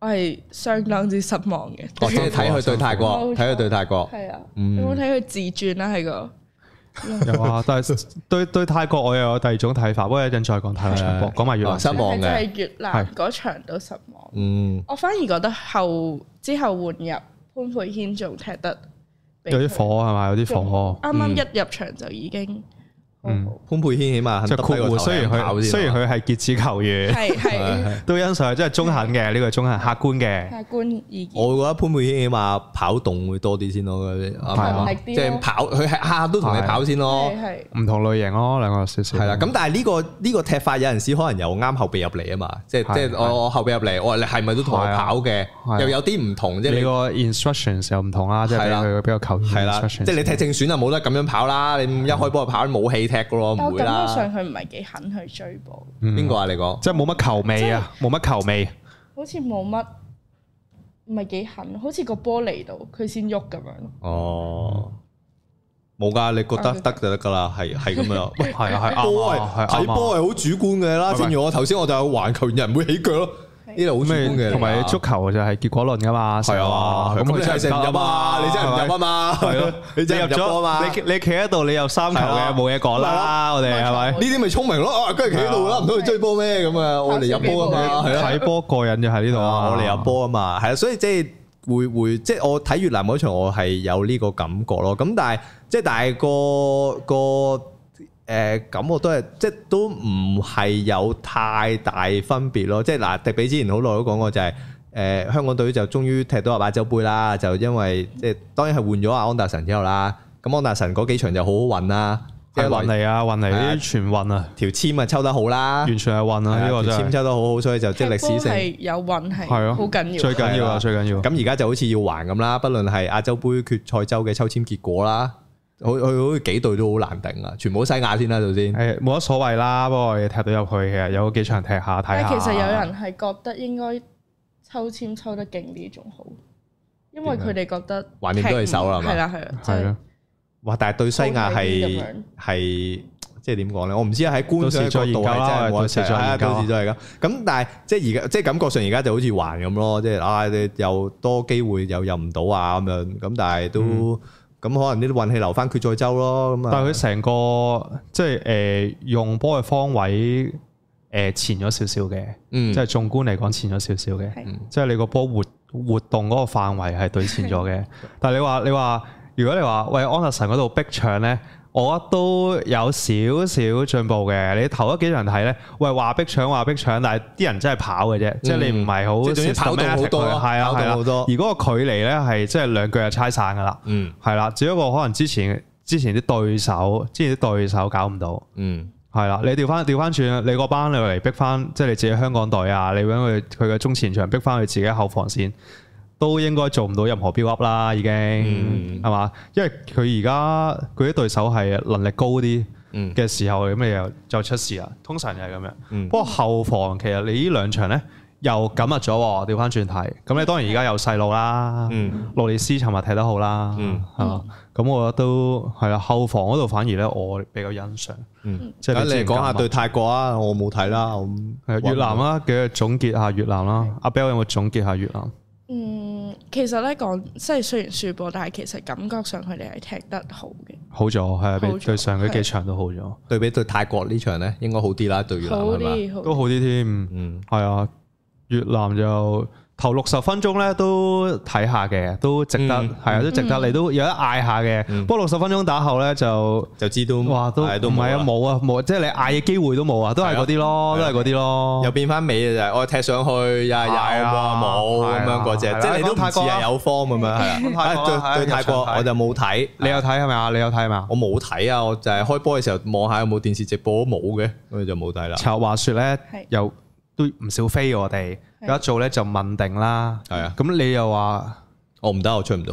我係相當之失望嘅。 即係睇佢對泰國，睇佢對泰國。 係啊，有冇睇佢自轉啦？喺個有啊，但係對泰國我又有第二種睇法，不過一陣再講泰國場波，講埋越南失望嘅。 係越南嗰場都失望。我反而覺得之後換入潘佩軒仲踢得有啲火係咪？有啲火。 啱啱一入場就已經。 潘佩軒起碼肯得低個頭雖然佢係傑志球員，係都欣賞，即係中肯嘅呢個中肯客觀嘅客觀意見。 我覺得潘佩軒起碼跑動會多啲先咯，即係跑佢係下下都同你跑先咯， 唔同類型咯，兩個少少。 係啦，咁但係呢個踢法有陣時可能又啱後備入嚟啊嘛，即係我後備入嚟，我話你係咪都同我跑嘅？又有啲唔同，即係你個 instructions 又唔同啦，即係佢比較球員係啦，即係你踢正選就冇得咁樣跑啦，你一開波就跑冇氣踢噶咯，唔會啦。 感覺上佢唔係幾肯去追波。 邊個啊？你講即係冇乜球味啊，冇乜球味。 好似冇乜，唔係幾肯，好似個波嚟到佢先喐咁樣。 哦，冇㗎，你覺得得就得㗎啦，係咁樣。 係啊係波係睇波係好主觀嘅啦。正如我頭先我就環球人唔會起腳咯。呢度好主觀嘅， 同埋足球就係結果論噶嘛， 係啊，咁你真係唔入啊，你真係唔入啊嘛，係咯，你真係入咗啊嘛， 你企喺度，你有3球嘅，冇嘢講啦，我哋係咪？呢啲咪聰明咯，跟住企喺度啦，唔通去追波咩？咁啊，我哋入波啊嘛， 睇波過癮就喺呢度啊， 我哋入波啊嘛，係啊，所以即係會即係我睇越南嗰場，我係有呢個感覺咯。咁但係個。咁我都係即係都唔係有太大分別咯，即係嗱，迪比之前好耐都講過就係香港隊就終於踢到亞洲杯啦，就因為即係當然係換咗阿安達臣之後啦，咁安達臣嗰幾場就好好運啦， 即係運嚟啲全運啊， 條籤啊抽得好啦， 完全係運啊，呢個條籤抽得好好，所以就即係歷史性係有運係好緊要， 最緊要啊最緊要。 咁而家就好似要還咁啦，不論係亞洲杯決賽周嘅抽籤結果啦。佢好似幾隊都好難頂啊！全部西亞先啦，首先係冇乜所謂啦。不過我哋踢到入去，其實有幾場踢下睇下。 但係其實有人係覺得應該抽籤抽得勁啲仲好，因為佢哋覺得橫掂都係手啦， 係啦係啦。 哇！但係對西亞係即係點講咧？我唔知喺觀賞角度係真係冇得食，係啊，到時再係咁。咁但係即係而家即係感覺上而家就好似還咁咯，即係你又多機會又入唔到啊咁樣。咁但係都。咁可能呢啲運氣留翻決賽周咯，咁啊！ 但係佢成個即係用波嘅方位前咗少少嘅，即係縱觀嚟講前咗少少嘅，即係你個波活動嗰個範圍係對前咗嘅。但係你話，如果你話喂安達臣嗰度逼搶咧，我覺得都有少少進步嘅。你頭嗰幾場睇咧，喂話逼搶，但係啲人真係跑嘅啫，即係你唔係好即係跑動好多， 係啊係啊，而嗰個距離咧係即係兩腳就猜散噶啦，係啦，只不過可能之前啲對手搞唔到，係啦，你調翻轉，你嗰班你嚟逼翻，即係你自己香港隊啊，你揾佢嘅中前場逼翻佢自己後防線。都應該做唔到任何 build up 啦，已經係嘛？因為佢而家佢啲對手係能力高啲嘅時候，咁你又就出事啦。通常就係咁樣。不過後防其實你呢兩場咧又緊密咗，調翻轉睇。咁你當然而家有細路啦，洛列斯尋日踢得好啦，係嘛？咁我覺得都係啦。後防嗰度反而咧我比較欣賞。 即係你講下對泰國啊，我冇睇啦。 越南啊，嘅總結下越南啦。阿 Bell 有冇總結下越南？ 其實咧講，即係雖然輸波，但係其實感覺上佢哋係踢得好嘅， 好咗係啊，比對上嗰幾場都好咗。 對比對泰國呢場咧，應該好啲啦，對越南係嘛？ 都好啲添，係啊，越南就頭60分鐘咧都睇下嘅，都值得，係啊，都值得，你都有得嗌下嘅。不過60分鐘打後咧就知都哇都唔係啊，冇，即係你嗌嘅機會都冇啊，都係嗰啲咯，都係嗰啲咯。又變翻尾就係我踢上去又係有冇咁樣嗰隻，即係你都唔似係有 form 咁樣係啊。對泰國我就冇睇，你有睇係咪啊？你有睇係咪啊？我冇睇啊，我就係開波嘅時候望下有冇電視直播都冇嘅，所以就冇睇啦。話説咧又都唔少飛我哋。有一做咧就問定啦，係啊，咁你又話我唔得，我出唔到嚟，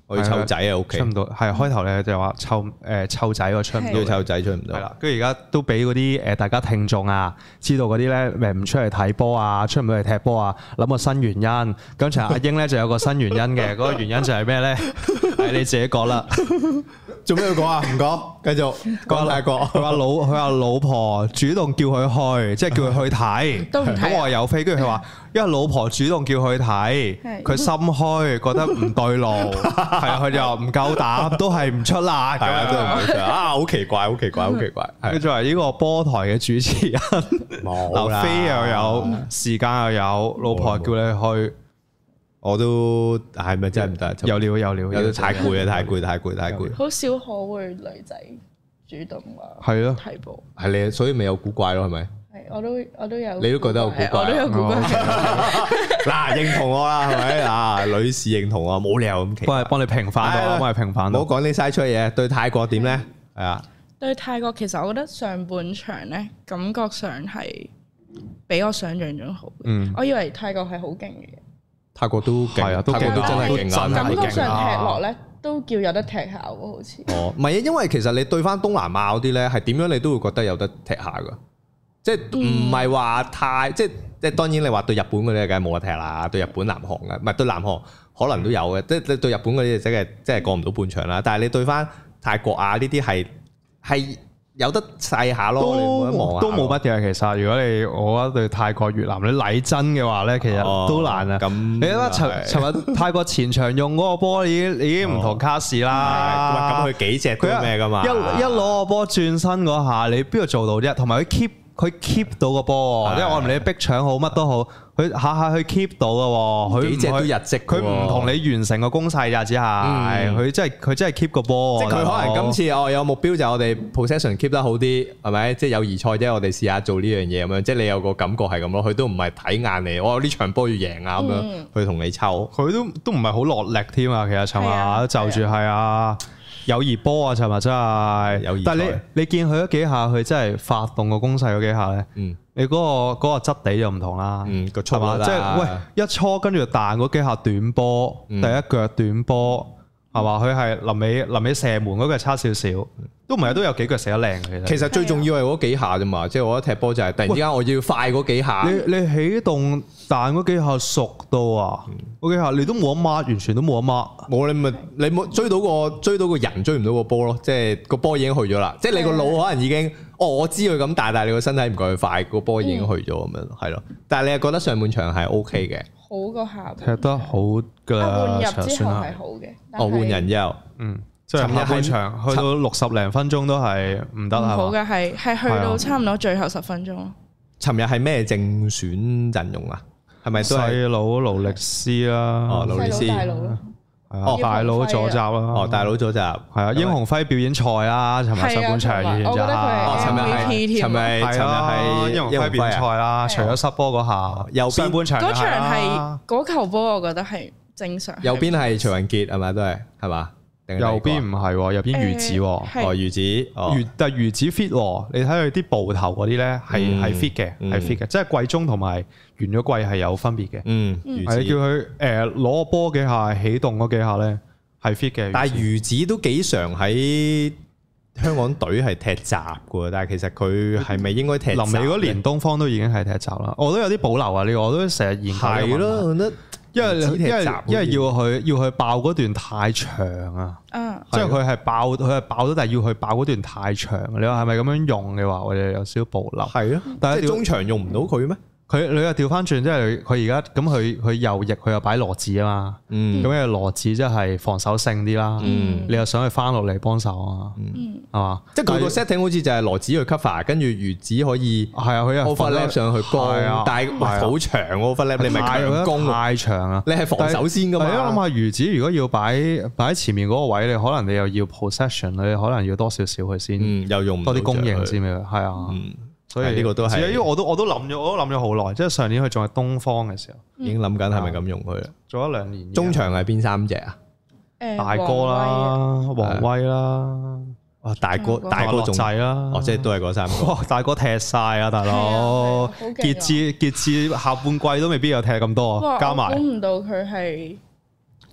我要湊仔啊屋企出唔到，係開頭咧就話湊仔我出唔到， 要湊仔出唔到。 係啦，跟住而家都俾嗰啲大家聽眾啊，知道嗰啲咧唔出嚟睇波啊，出唔到嚟踢波啊，諗個新原因。咁其實阿英咧就有個新原因嘅，嗰個原因就係咩咧？係你自己講啦。 做咩要講啊？唔講，繼續講泰國。 佢話老婆主動叫佢去，即係叫佢去睇。咁我話有飛，跟住佢話，因為老婆主動叫佢睇，佢心虛，覺得唔對路，係啊，佢就唔夠膽，都係唔出啦。 係啊，真係唔出啊！好奇怪，好奇怪，好奇怪。 佢作為呢個波台嘅主持人，嗱飛又有，時間又有，老婆叫你去。 我都係咪真係唔得？ 有料， 有太攰啊！太攰。 好少可會女仔主動話係咯睇波， 係你，所以咪有古怪咯，係咪？ 係我都有， 你都覺得有古怪， 我都有古怪。 嗱，認同我啦，係咪啊？女士認同我，冇理由咁奇怪。 幫你平反到，幫你平反到。 唔好講啲嘥出嘢。對泰國點咧？係啊。 對泰國其實我覺得上半場咧，感覺上係比我想象中好。我以為泰國係好勁嘅。泰國都勁啊，泰國都真係勁啊！ 感覺上踢落咧都叫有得踢下喎，好似。 哦，唔係啊，因為其實你對翻東南亞嗰啲咧，係點樣你都會覺得有得踢下噶，即係唔係話太即係當然你話對日本嗰啲梗係冇得踢啦，對日本南韓嘅，唔係對南韓可能都有嘅，即係你對日本嗰啲即係過唔到半場啦。但係你對翻泰國啊呢啲係有得細下咯， 都冇乜嘅。其實如果我覺得對泰國越南你禮真嘅話咧，其實都難啊。咁你睇下尋日泰國前場用嗰個波已經唔同卡士啦。 咁佢幾隻都咩噶嘛？ 一攞個波轉身嗰下，你邊度做到啫？同埋佢 keep 到個波，因為我唔理逼搶好乜都好，佢下下去 keep 到嘅，佢幾隻都日積， 佢唔同你完成個攻勢咋，只係佢真係 keep 個波。 即係佢可能今次有目標就係我哋 possession keep 得好啲，係咪？即係友誼賽啫，我哋試下做呢樣嘢咁樣。即係你有個感覺係咁咯，佢都唔係睇眼你，我呢場波要贏啊咁樣，去同你抽。 佢都唔係好落力添啊，其實尋日就住係啊。友誼波啊，尋日真係友誼，但係你見佢嗰幾下，佢真係發動個攻勢嗰幾下咧，你嗰個質地就唔同啦， 個速度即係喂一搓跟住彈嗰幾下短波，第一腳短波係嘛？佢係臨尾射門嗰個差少少，都唔係都有幾腳射得靚嘅。 其實最重要係嗰幾下啫嘛，即係我覺得踢波就係突然之間我要快嗰幾下。 你起動彈嗰幾下熟到啊，嗰幾下你都冇得 mark，完全都冇得 mark。冇你冇追到個人追唔到個波咯，即係個波已經去咗啦。即係你個腦可能已經我知佢咁大，但係你個身體唔夠佢快，個波已經去咗咁樣，係咯。但係你係覺得上半場係 OK 嘅， 好過下半踢得好㗎。 換入之後係好嘅， 換人之後， 即係下半場去到60零分鐘都係唔得啊！ 好嘅係去到差唔多最後10分鐘。 尋日係咩正選陣容啊？係咪都係細佬勞力斯啦？ 勞力斯大佬咯， 大佬左閘啦， 大佬左閘係啊！英雄輝表演賽啦，尋日上半場完咗。 尋日係英雄輝表演賽啦，除咗失波嗰下，右邊半場嗰場係嗰球波，我覺得係正常。 右邊係徐雲傑係咪都係嘛？ 右邊唔係，右邊魚子， 魚子， 但係魚子 fit，你睇佢啲步頭嗰啲咧係 fit 嘅，係 fit 嘅，即係季中同埋完咗季係有分別嘅。係叫佢攞個波幾下起動嗰幾下咧係 fit 嘅。 但係魚子都幾常喺香港隊係踢閘嘅，但係其實佢係咪應該踢？ 臨尾嗰年東方都已經係踢閘啦，我都有啲保留啊！呢個我都成日研究。 係咯，我覺得。因為要去爆嗰段太長啊，即係佢係爆咗，但係要去爆嗰段太長。你話係咪咁樣用嘅話，我哋有少少保留。 係咯，但係中場用唔到佢咩？ 你又調翻轉，即係佢而家咁佢右翼佢又擺羅子啊嘛，咁嘅羅子即係防守性啲啦，你又想去翻落嚟幫手啊，係嘛？即係佢個 setting 好似就係羅子去 cover，跟住魚子可以係啊，佢又 overlap 上去攻，但係好長 overlap，你咪強攻太長啊！ 你係防守先噶嘛？ 係啊，諗下魚子如果要擺喺前面嗰個位，你可能你又要 possession，你可能要多少少佢先， 又用多啲供應先嘅，係啊。所以呢個都係，因為我都諗咗好耐，即係上年佢仲係東方嘅時候， 已經諗緊係咪咁用佢啦。 做咗2年。 中場係邊3隻啊？ 大哥啦，王威啦， 大哥仔啦， 即係都係嗰3個。 大哥踢晒啊，大佬！傑志下半季都未必有踢咁多，加埋。 估唔到佢係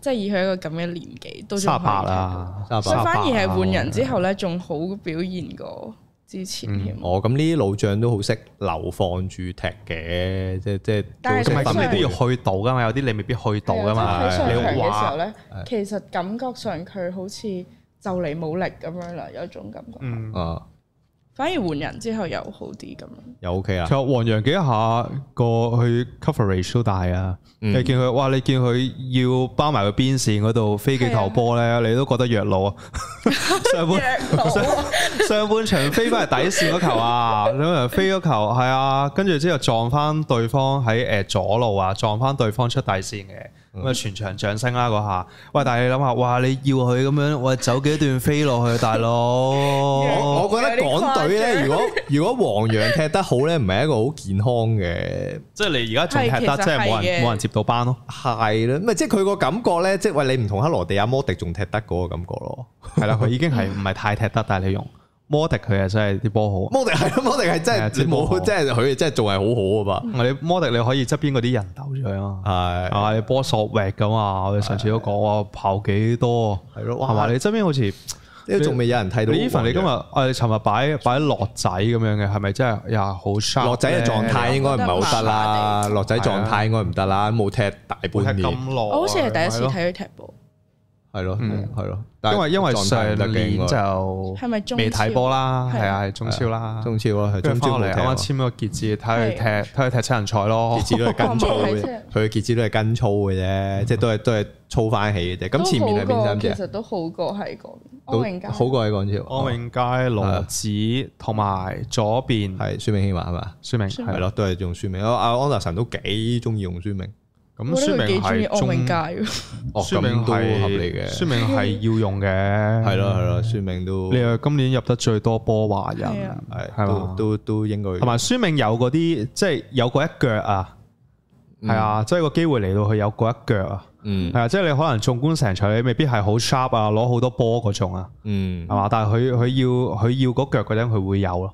即係以佢一個咁嘅年紀都仲可以 38啦， 所以反而係換人之後咧，仲好表現過之前添。 咁呢啲老將都好識流放住踢嘅，即但係咁你都要去到噶嘛，有啲你未必去到噶嘛。 喺上場嘅時候咧，其實感覺上佢好似就嚟冇力咁樣啦，有一種感覺。反而換人之後又好啲咁樣， 又 OK 啦。 其實黃洋幾下個去 coverage 都大啊！你見佢，哇！你見佢要包埋個邊線嗰度飛幾球波咧，你都覺得弱佬啊！上半場飛翻嚟底線嗰球啊，兩個人飛嗰球係啊，跟住之後撞翻對方喺左路啊，撞翻對方出底線嘅。咁啊！全場掌聲啦嗰下，喂！但係你諗下，哇！你要佢咁樣，喂，走幾段飛落去，大佬。 我覺得港隊咧，如果黃洋踢得好咧，唔係一個好健康嘅。 即係你而家仲踢得，即係冇人接到班咯。 係啦，咪即係佢個感覺咧，即係喂，你唔同克羅地亞摩迪仲踢得嗰個感覺咯。 係啦，佢已經係唔係太踢得，但係你用摩迪佢啊，真係啲波好。 摩迪係真係你冇，即係佢真係仲係好好啊嘛。 你摩迪你可以側邊嗰啲人鬥咗啊嘛。係你波索域咁啊！我哋上次都講話跑幾多係咯，係嘛？你側邊好似都仲未有人睇到。 你今日你尋日擺落仔咁樣嘅，係咪真係又好 sharp？ 落仔嘅狀態應該唔係好得啦，落仔狀態應該唔得啦，冇踢大半年。 我好似係第一次睇佢踢波。 係咯，係咯， 因為上年就係咪未睇波啦，係啊，係中超啦， 中超咯，係中超嚟。 啱啱簽咗個傑志，睇佢踢七人賽咯。 傑志都係跟操嘅，佢傑志都係跟操嘅啫，即係都係操翻起嘅啫。咁前面係邊三隻？ 其實都好過喺港安永佳， 好過喺港超。 安永佳、羅子同埋左邊係孫明希嘛係嘛？ 孫明係咯，都係用孫明。阿安達臣都幾中意用孫明。 咁孫明係安永佳， 孫明都合理嘅。 孫明係要用嘅， 係咯，孫明都。 你話今年入得最多波華人，係嘛？ 都應該。 同埋孫明有嗰啲，即係有嗰一腳啊，係啊，即係個機會嚟到佢有嗰一腳啊，係啊，即係你可能縱觀成場，你未必係好 sharp 啊，攞好多波嗰種啊，係嘛？但係佢要嗰腳嗰陣，佢會有咯，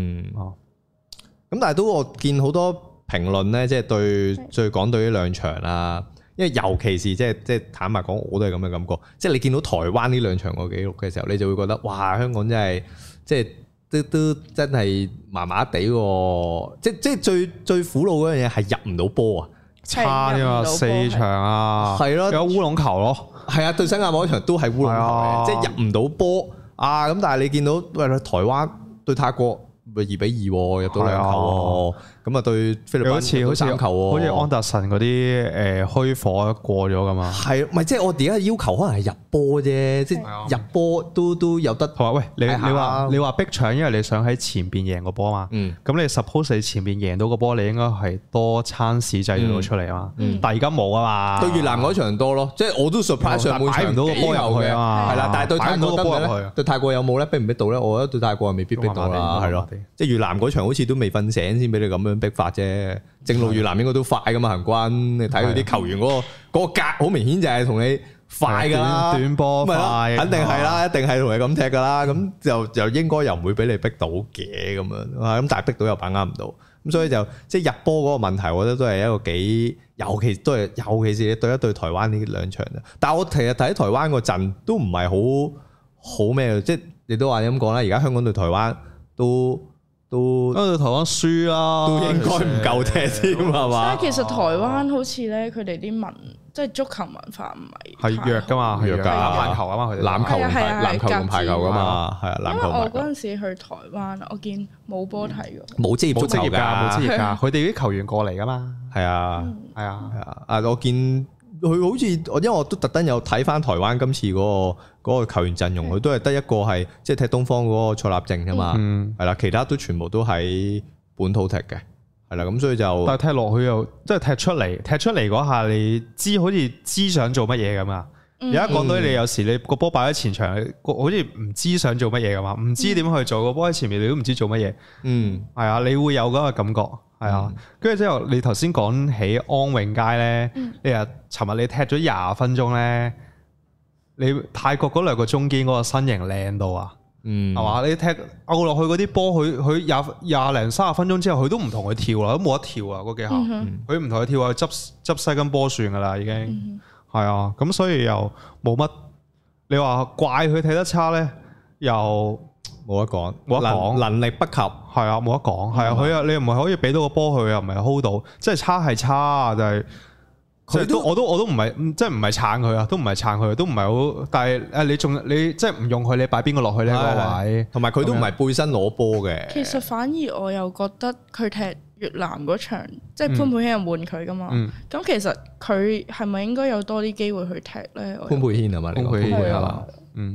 咁但係都我見好多評論咧，即係對港隊呢兩場啦，因為尤其是即係坦白講，我都係咁嘅感覺。即係你見到台灣呢兩場個紀錄嘅時候，你就會覺得哇，香港真係即係都真係麻麻地喎。即係最苦惱嗰樣嘢係入唔到波啊， 差啊嘛，4場啊， 係咯， 有烏龍球咯， 係啊，對新加坡嗰場都係烏龍球嘅，即係入唔到波啊。咁但係你見到喂台灣對泰國咪2-2入到兩球。咁啊對菲律賓好似3球喎， 好似安達臣嗰啲虛火過咗㗎嘛？ 係，唔係即係我而家要求可能係入波啫，即係入波都有得。 同埋喂，你話逼搶，因為你想喺前邊贏個波嘛。咁你 suppose 你前邊贏到個波，你應該係多餐市製到出嚟啊嘛。但係而家冇啊嘛。對越南嗰場多咯，即係我都 surprise 上半場擺唔到個波入去啊嘛。係啦，但係對泰國得唔得咧？對泰國有冇咧？逼唔逼到咧？我覺得對泰國未必逼到啦，係咯。即係越南嗰場好似都未瞓醒先俾你咁樣逼法啫，正路越南應該都快噶嘛，行軍你睇佢啲球員嗰個格好明顯就係同你快噶啦， 短波快， 肯定係啦，一定係同你咁踢噶啦，咁就應該又唔會俾你逼到嘅咁樣，咁但係逼到又把握唔到，咁所以就即係入波嗰個問題，我覺得都係一個幾，尤其是你對一對台灣呢兩場，但係我其實睇台灣個陣都唔係好咩，即係你都話咁講啦，而家香港對台灣都台灣輸啦， 都應該唔夠踢添係嘛？ 但係其實台灣好似咧，佢哋啲即係足球文化唔係弱噶嘛，係弱㗎，籃球啊嘛，佢哋籃球同排球㗎嘛，係啊，籃球。因為我嗰陣時去台灣，我見冇波睇㗎， 冇職業足球㗎， 冇職業㗎，佢哋啲球員過嚟㗎嘛， 係啊，係啊，我見佢好似因為我都特登有睇翻台灣今次嗰個球員陣容，佢都係得一個係即係踢東方嗰個蔡立正啫嘛，係啦，其他都全部都喺本土踢嘅，係啦，咁所以就但係踢落去又即係踢出嚟嗰下，你知好似知想做乜嘢咁啊！而家港隊你有時你個波擺喺前場，好似唔知想做乜嘢咁嘛，唔知點去做個波喺前面，你都唔知做乜嘢，係啊，你會有嗰個感覺。係啊，跟住之後你頭先講起安永佳咧，你話尋日你踢咗20分鐘咧，你泰國嗰兩個中堅嗰個身形靚到啊，係嘛？你踢拗落去嗰啲波，佢廿零30分鐘之後，佢都唔同佢跳啦，都冇得跳啊嗰幾下，佢唔同佢跳啊，執西根波算噶啦已經，係係啊，咁所以又冇乜。你話怪佢踢得差咧，又冇得講，能力不及， 係啊，冇得講，係啊，佢啊，你唔係可以俾到個波佢，又唔係 hold 到，即係差係差，就係我都唔係，即係唔係撐佢啊，都唔係撐佢，都唔係好，但係你即係唔用佢，你擺邊個落去呢個位？同埋佢都唔係背身攞波嘅。 其實反而我又覺得佢踢越南嗰場，即係潘佩軒又換佢噶嘛，咁其實佢係咪應該有多啲機會去踢咧？ 潘佩軒係嘛？潘佩軒係嘛？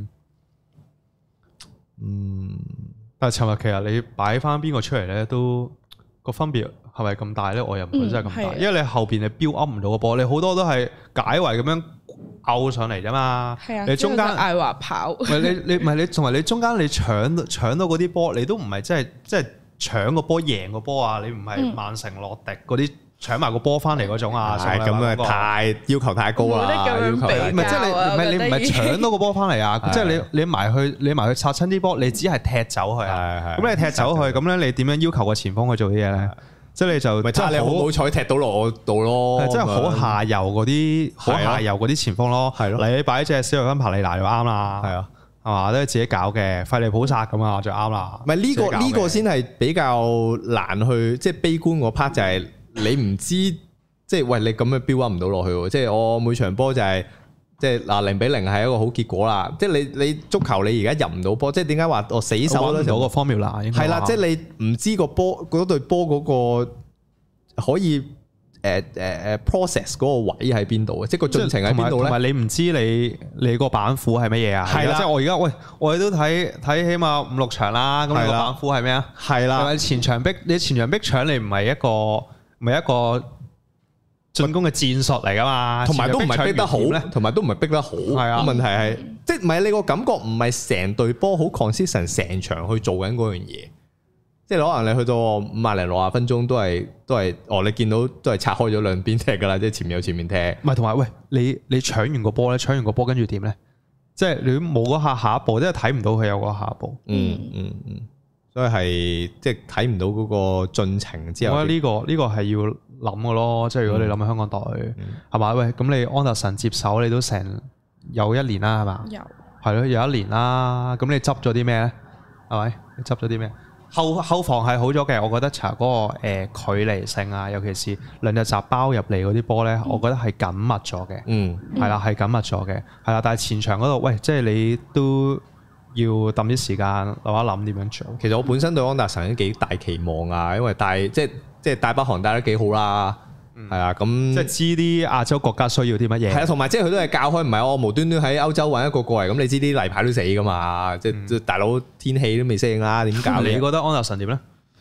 但係尋日其實你擺翻邊個出嚟咧，都個分別係咪咁大咧？我又唔覺得真係咁大，因為你後邊你標 up 唔到個波，你好多都係解圍咁樣拗上嚟啫嘛。你中間艾華跑， 唔係你同埋你中間你搶到嗰啲波，你都唔係即係搶個波贏個波啊！你唔係曼城洛迪嗰啲搶埋個波翻嚟嗰種啊！ 係咁啊，太要求太高啦！ 唔係即係你唔係搶到個波翻嚟啊！即係你埋去拆親啲波，你只係踢走佢啊！咁你踢走佢，咁咧你點樣要求個前鋒去做啲嘢咧？即係你就真係好彩踢到落我度咯！ 即係好下游嗰啲前鋒咯，係咯。你擺隻小維芬帕利拿就啱啦，係啊。係嘛，都係自己搞嘅，費利普薩咁啊，就啱啦。 唔係呢個先係比較難去，即係悲觀嗰 part 就係你唔知，即係喂你咁樣 build up 唔到落去，即係我每場波就係即係嗱0-0係一個好結果啦。即係你足球你而家入唔到波，即係點解話我死守揾唔到個 formula？ 係啦，即係你唔知個波嗰隊波嗰個可以。process 嗰個位喺邊度啊？即係個進程喺邊度咧？ 同埋你唔知你個板斧係乜嘢啊？係啦，即係我而家我哋都睇起碼5-6場啦。咁你個板斧係咩啊？係啦，你前場逼搶，你唔係一個進攻嘅戰術嚟噶嘛？同埋都唔係逼得好咧，同埋都唔係逼得好。係啊，問題係即係唔係你個感覺唔係成隊波好 consistent 成場去做緊嗰樣嘢。即係可能你去到50-60分鐘都係你見到都係拆開咗兩邊踢噶啦，即係前面有前面踢。唔係，同埋喂，你搶完個波咧，搶完個波跟住點咧？即係你冇嗰下一步，即係睇唔到佢有嗰下一步。所以係即係睇唔到嗰個進程之後。我覺得呢個係要諗嘅咯。即係如果你諗香港隊係嘛？喂，咁你安達臣接手你都成有1年啦，係嘛？係咯，有1年啦。咁你執咗啲咩咧？係咪？你執咗啲咩？後防係好咗嘅，我覺得查嗰個距離性啊，尤其是兩隻閘包入嚟嗰啲波咧，我覺得係緊密咗嘅。係啦，係緊密咗嘅，係啦。但係前場嗰度，喂，即係你都要揼啲時間諗一諗點樣做。其實我本身對安達臣都幾大期望啊，因為即係大北韓帶得幾好啦。係啊，咁即係知啲亞洲國家需要啲乜嘢。係啊，同埋即係佢都係教開，唔係我無端端喺歐洲揾一個過嚟，咁你知啲例牌都死噶嘛？即係大佬天氣都未適應啦，點搞？你覺得安達臣點咧？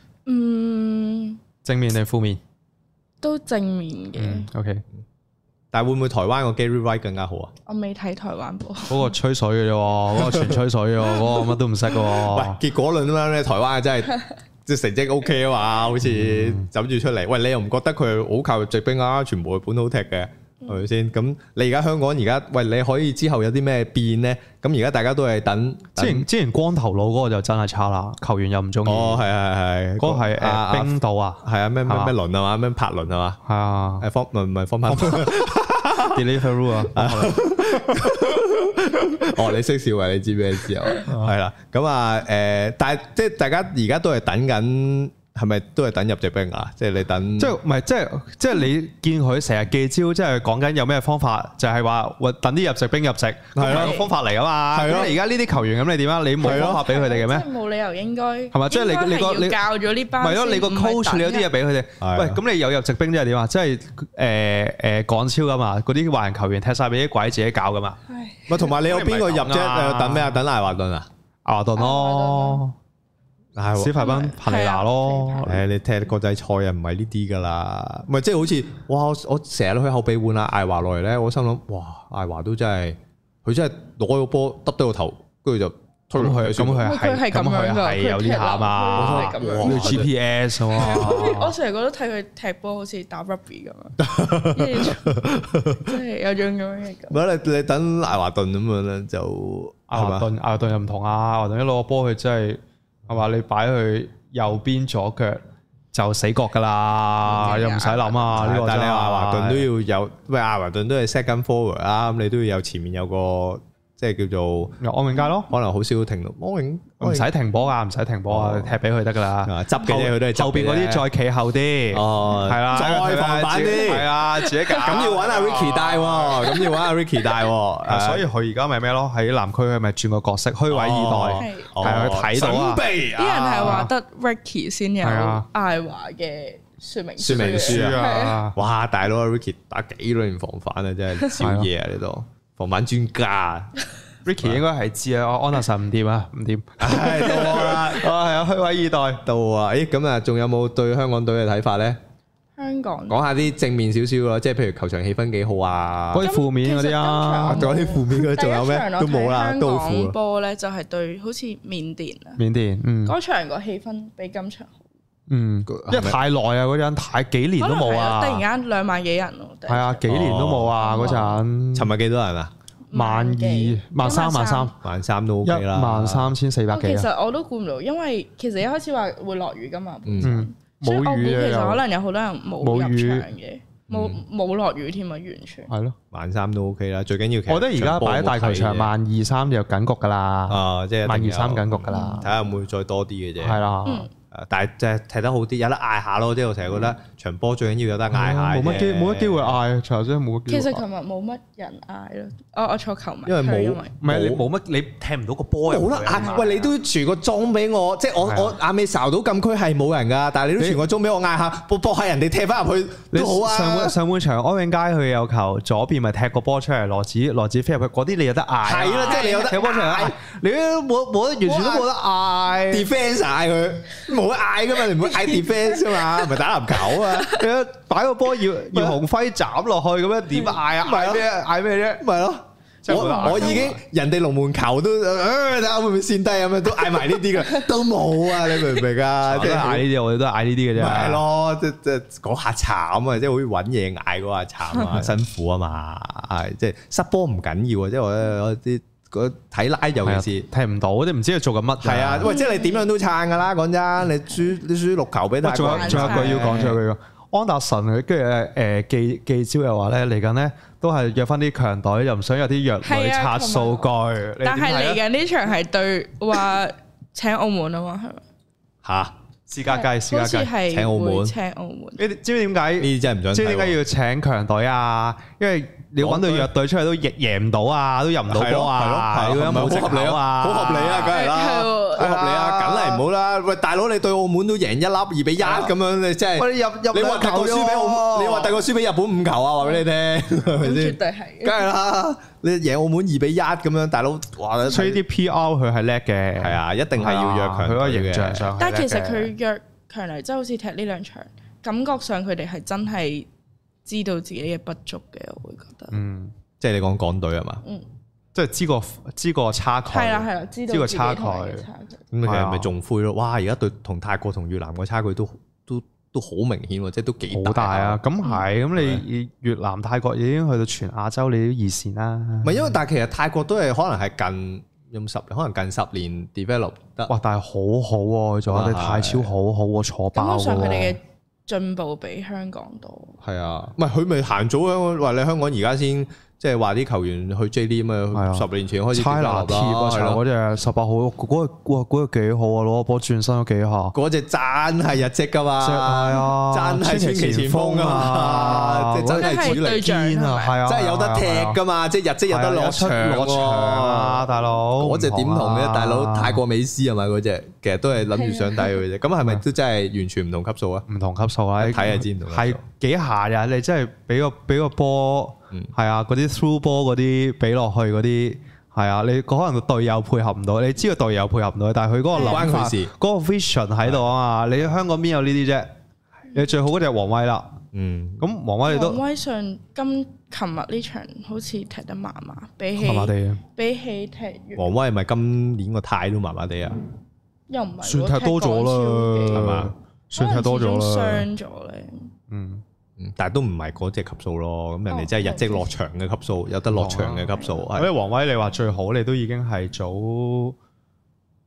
正面定負面？都正面嘅。OK，但係會唔會台灣個 Gary Wright 更加好啊？我未睇台灣波。嗰個吹水嘅啫，嗰個全吹水嘅，嗰個乜都唔識嘅。喂，結果論啦，台灣真係。即係成績 OK 啊嘛，好似走住出嚟。喂，你又唔覺得佢好靠入籍兵啊？全部係本土踢嘅，係咪先？咁你而家香港而家，喂，你可以之後有啲咩變咧？咁而家大家都係等。之前光頭佬嗰個就真係差啦，球員又唔中意。哦，係，嗰個係冰島啊，係啊，咩輪啊嘛，咩柏倫啊嘛，係啊，係方倫唔係方柏倫。Deliveroo 啊。哦，你識笑啊？你知咩事啊？係啦，咁啊，但係即係大家而家都係等緊，係咪都係等入籍兵啊？即係你等，即係唔係？即係你見佢成日記招，即係講緊有咩方法，就係話等啲入籍兵入籍，係咯，方法嚟啊嘛。係咯，而家呢啲球員咁，你點啊？你冇方法俾佢哋嘅咩？冇理由應該係嘛？即係你教咗呢班，係咯？你個 coach 你有啲嘢俾佢哋。喂，咁你有入籍兵即係點啊？即係港超噶嘛？嗰啲華人球員踢晒俾啲鬼自己搞噶嘛？咪同埋你有邊個入啫？等咩啊？等艾華頓啊？艾華頓咯，史提芬帕尼拿咯。你踢國際賽又唔係呢啲噶啦，咪即係好似哇！我成日都去後備換啊艾華落嚟咧，我心諗哇，艾華都真係佢真係攞個波揼低個頭，跟住就推落去。咁佢係有啲下嘛？你 GPS 啊！我成日覺得睇佢踢波好似打 rugby 咁啊，即係有種咁樣嘅。唔係你等艾華頓咁樣咧，就艾華頓又唔同啊！艾華頓一攞個波，佢真係係嘛？你擺去右邊左腳就死角噶啦，又唔使諗啊！呢個但係你話華頓都要有，喂，阿華頓都係 second forward 啦，咁你都要有前面有個即係叫做安永佳咯， 可能好少停到安永， 唔使停波啊，唔使停波啊，踢俾佢得噶啦， 執嘅啫，佢都係後邊嗰啲再企後啲，係啦， 再防反啲， 係啊，自己搞。 咁要揾阿 Ricky 帶喎，咁要揾阿 Ricky 帶喎， 所以佢而家咪咩咯？喺南區佢咪轉個角色，虛位二代，係佢睇到啊！ 啲人係話得 Ricky 先有艾華嘅說明書啊！哇，大佬 Ricky 打幾多年防反啊，真係少嘢啊！呢度防反專家。 Ricky 應該係知啊，安達臣唔掂啊，唔掂， 係到我啦， 係啊，虛位二代到啊！誒，咁啊，仲有冇對香港隊嘅睇法咧？ 香港講下啲正面少少咯，即係譬如球場氣氛幾好啊， 嗰啲負面嗰啲啊， 仲有啲負面嗰啲仲有咩？都冇啦，都好負。 波咧就係對好似緬甸啊， 緬甸， 嗰場個氣氛比今場好。 因為太耐啊，嗰陣太幾年都冇啊， 突然間2萬幾人咯， 係啊，幾年都冇啊，嗰陣。 尋日幾多人啊 ？12,000、13,000 都 OK 啦 ，13,400幾。 其實我都估唔到，因為其實一開始話會落雨噶嘛， 冇雨其實可能有好多人冇入場嘅，冇落雨添啊，完全係咯 ，13,000都 OK 啦，最緊要。 我覺得而家擺喺大球場12,300就緊局噶啦， 即係 12,300緊局噶啦， 睇下會唔會再多啲嘅啫。 係啦。 但係即係踢得好啲，有得嗌下咯。即係我成日覺得場波最緊要有得嗌下。 冇乜機會嗌，場真係冇乜機會。 其實琴日冇乜人嗌咯。我坐球迷， 因為冇， 唔係你冇乜，你踢唔到個波。 冇得嗌。喂，你都傳個鐘俾我，即係我眼尾睄到禁區係冇人㗎，但係你都傳個鐘俾我嗌下，搏下人哋踢翻入去都好啊。 上半場安永佳佢有球，左邊咪踢個波出嚟，羅子飛入去，嗰啲你有得嗌。 係啦，即係你有得踢波出嚟，你都冇得完全都冇得嗌。defence 嗌佢。冇得嗌噶嘛，你唔會嗌 defence 啊嘛，唔係打籃球啊！ 你擺個波要鴻輝斬落去咁樣點嗌啊？嗌咩？嗌咩啫？ 咪咯！我已經人哋龍門球都睇下會唔會跣低咁樣，都嗌埋呢啲噶，都冇啊！你明唔明啊？ 即係嗌呢啲，我哋都嗌呢啲嘅啫。 係咯，即係嗰下慘啊！即係好似揾嘢嗌嗰下慘啊，辛苦啊嘛，係即係失波唔緊要啊！即係我啲。睇拉尤其是踢唔到，即係唔知佢做緊乜。 係啊，喂，即係你點樣都撐噶啦，講真，你輸6球俾大。 仲有一句要講，仲有一句安達臣佢跟住記招又話咧嚟緊咧都係約翻啲強隊，又唔想有啲弱隊刷數據。 但係嚟緊呢場係對話請澳門啊嘛，係咪？ 嚇！ 私家雞請澳門， 你知唔知點解？ 呢啲真係唔想睇。 知唔知點解要請強隊啊？因為你揾到弱隊出嚟都贏唔到啊，都入唔到波啊，係咯，冇藉口啊， 好合理啊，梗係啦，好合理啊，梗係唔好啦。喂，大佬你對澳門都贏1粒2-1咁樣，你真係你話第個輸俾澳門，你話第個輸俾日本5球啊？話俾你聽，係咪先？ 絕對係， 梗係啦。你贏澳門2-1咁樣，大佬話所以啲 PR 佢係叻嘅， 係啊，一定係要約強隊嘅。 佢個形象上， 但係其實佢約強嚟，即係好似踢呢兩場，感覺上佢哋係真係知道自己嘅不足嘅，我會覺得。 即係你講港隊係嘛？ 即係知個差距。係啦，知道個差距。咁其實咪仲灰咯？哇！而家對同泰國同越南個差距都好明顯喎，即係都幾大啊！咁係，咁你越南泰國已經去到全亞洲你都二線啦。 唔係因為，但係其實泰國都係可能係近10年 develop 得。 哇！但係好好喎，仲有啲泰超好好喎，坐爆喎。 基本上佢哋嘅進步比香港多。 係啊，唔係佢咪行早香港話你香港而家先。即係話啲球員去 J 聯啊，10年前開始差拿貼啊，嗰隻18號嗰隻幾好啊，攞個波轉身都幾下。 嗰隻真係日職噶嘛， 係啊， 真係傳奇前鋒啊，即係真係主力堅啊，係啊，真係有得踢噶嘛，即係日職有得落場啊，大佬。嗰隻點同嘅大佬泰國美斯係咪嗰隻？其實都係諗住上底嘅啫。咁係咪都真係完全唔同級數啊？ 唔同級數啊， 睇下知唔同。 係幾下呀？你真係俾個波。係啊，嗰啲 through 波嗰啲俾落去嗰啲，係啊，你可能個隊友配合唔到，你知個隊友配合唔到，但係佢嗰個諗法、嗰個 vision 喺度啊嘛，你香港邊有呢啲啫？你最好嗰隻王威啦，咁王威你都。王威上琴日呢場好似踢得麻麻，比起踢。 王威係咪今年個態都麻麻地啊？ 又唔係， 算踢多咗啦，係嘛？算踢多咗啦， 傷咗咧。 但係都唔係嗰隻級數咯，咁人哋真係日職落場嘅級數，有得落場嘅級數。 所以王威你話最好，你都已經係早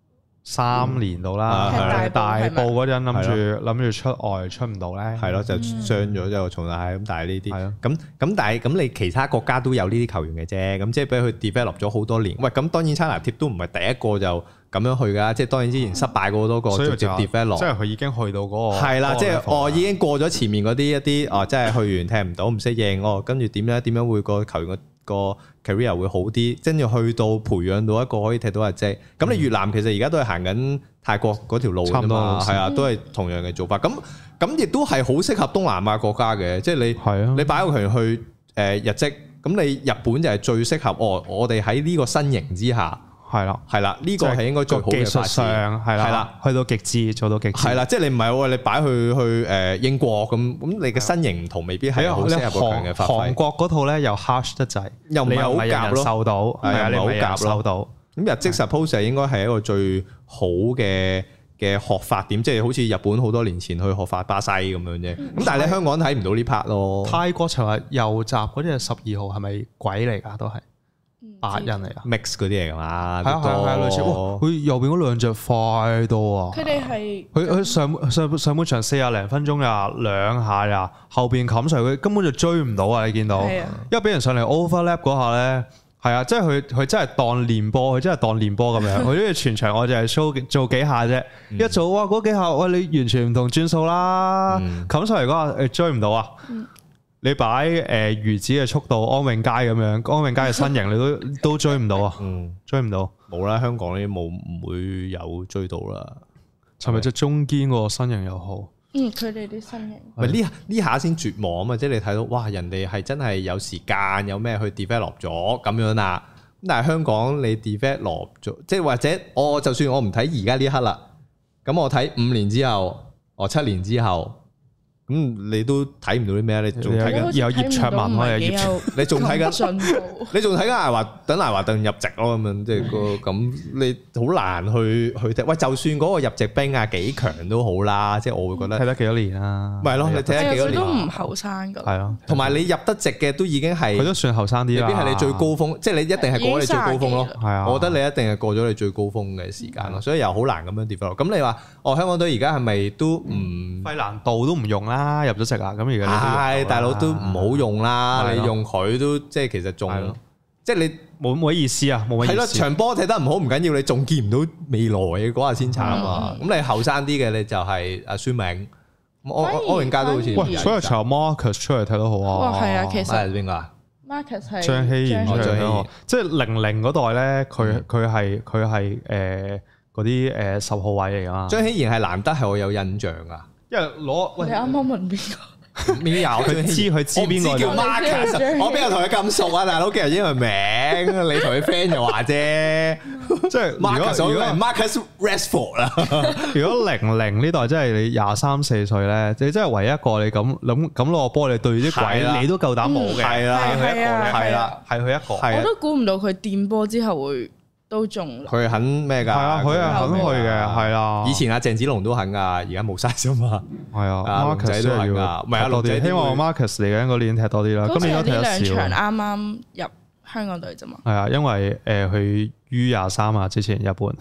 3年到啦，大埔嗰陣諗住出外出唔到咧， 係咯，就傷咗之後重大咁，但係呢啲咁但係咁你其他國家都有呢啲球員嘅啫，咁即係俾佢 develop 咗好多年。喂，咁當然差拿貼都唔係第一個就咁樣去㗎，即係當然之前失敗過好多個直接 develop，即係佢已經去到嗰個係啦，即係已經過咗前面嗰啲一啲即係去完踢唔到唔適應跟住點樣會個球員個 career 會好啲，跟住去到培養到一個可以踢到日職。咁你越南其實而家都係行緊泰國嗰條路啫嘛，係啊，都係同樣嘅做法。咁亦都係好適合東南亞國家嘅，即係你擺個球員去日職，咁你日本就係最適合我哋喺呢個身形之下。係啦，呢個係應該最好嘅發展。係啦， 去到極致，做到極致。 係啦，即係你唔係喎，你擺去英國咁你嘅身形唔同，未必係好適合個強嘅發揮。 韓國嗰套咧又 harsh 得滯， 又唔係好夾咯， 受到係啊，你唔係好夾咯。 咁日職 suppose 應該係一個最好嘅學法點，即係好似日本好多年前去學法巴西咁樣啫。咁但係你香港睇唔到呢 part 咯。 泰國尋日右閘嗰啲係12號，係咪鬼嚟㗎？都係。白人嚟啊 ，mix 嗰啲嚟㗎嘛， 係類似。佢右邊嗰兩隻快到啊！ 佢哋係佢上半場40零分鐘呀2下呀，後邊冚上佢根本就追唔到啊！你見到，因為俾人上嚟 overlap 嗰下咧，係啊，即係佢真係當練波，佢真係當練波咁樣。佢呢個全場我就係 show 做幾下啫，一做哇嗰幾下，喂你完全唔同轉數啦，冚上嚟嗰下追唔到啊！你擺魚子嘅速度，安永佳咁樣，安永佳嘅身形你都追唔到啊！追唔到， 冇啦，香港呢啲唔會有追到啦。 係咪即係中堅個身形又好？ 佢哋啲身形。 咪呢下先絕望啊嘛！即係你睇到哇，人哋係真係有時間有咩去 develop 咗咁樣啦。咁但係香港你 develop 咗，即係或者就算我唔睇而家呢刻啦，咁我睇5年之後，7年之後。咁你都睇唔到啲咩？你仲睇緊有葉卓文啊， 你仲睇緊你仲睇緊艾華頓入籍咯咁樣，即係咁你好難去踢。喂，就算嗰個入籍兵啊幾強都好啦，即係我會覺得睇得幾多年啦。 咪係咯，你睇得幾多年都唔後生㗎。 係咯， 同埋你入得籍嘅都已經係佢都算後生啲啦。 未必係你最高峰，即係你一定係過咗你最高峰咯。 係啊， 我覺得你一定係過咗你最高峰嘅時間咯，所以又好難咁樣 develop。咁你話香港隊而家係咪都唔費蘭道都唔用啦？入咗籍啊，咁而家係大佬都唔好用啦，你用佢都即係其實仲即係你冇乜意思啊，冇乜意思。 係咯，場波踢得唔好唔緊要，你仲見唔到未來嘅嗰下先慘啊！咁你後生啲嘅你就係阿孫銘，安永佳都好似。 喂，所以查 Marcus 出嚟睇得好啊！ 哇，係啊，其實係邊個啊 ？Marcus 係張希賢出嚟睇得好，即係00嗰代咧，佢係嗰啲10號位嚟㗎嘛。 張希賢係難得係我有印象啊！因為你啱啱問邊個？ 邊有佢知邊個叫 Marcus？我邊有同佢咁熟啊，大佬，叫人英文名，你同佢 friend 就話啫。即係如果係 Marcus Rashford 啦。 如果00呢代真係你23、24歲咧，你真係唯一一個你咁攞個波，你對啲鬼你都夠膽冇嘅。係啦，係佢一個，係啦，係佢一個。 我都估唔到佢掂波之後會。都中， 佢肯咩㗎？係啊，佢係肯去嘅，係啦。 以前阿鄭子龍都肯㗎，而家冇晒啫嘛。 係啊，Marcus 都係要，唔係啊，多啲。希望 Marcus 嚟緊嗰年踢多啲啦。今年都踢得少。 呢兩場啱啱入香港隊啫嘛。 係啊，因為去 U23啊，之前日本。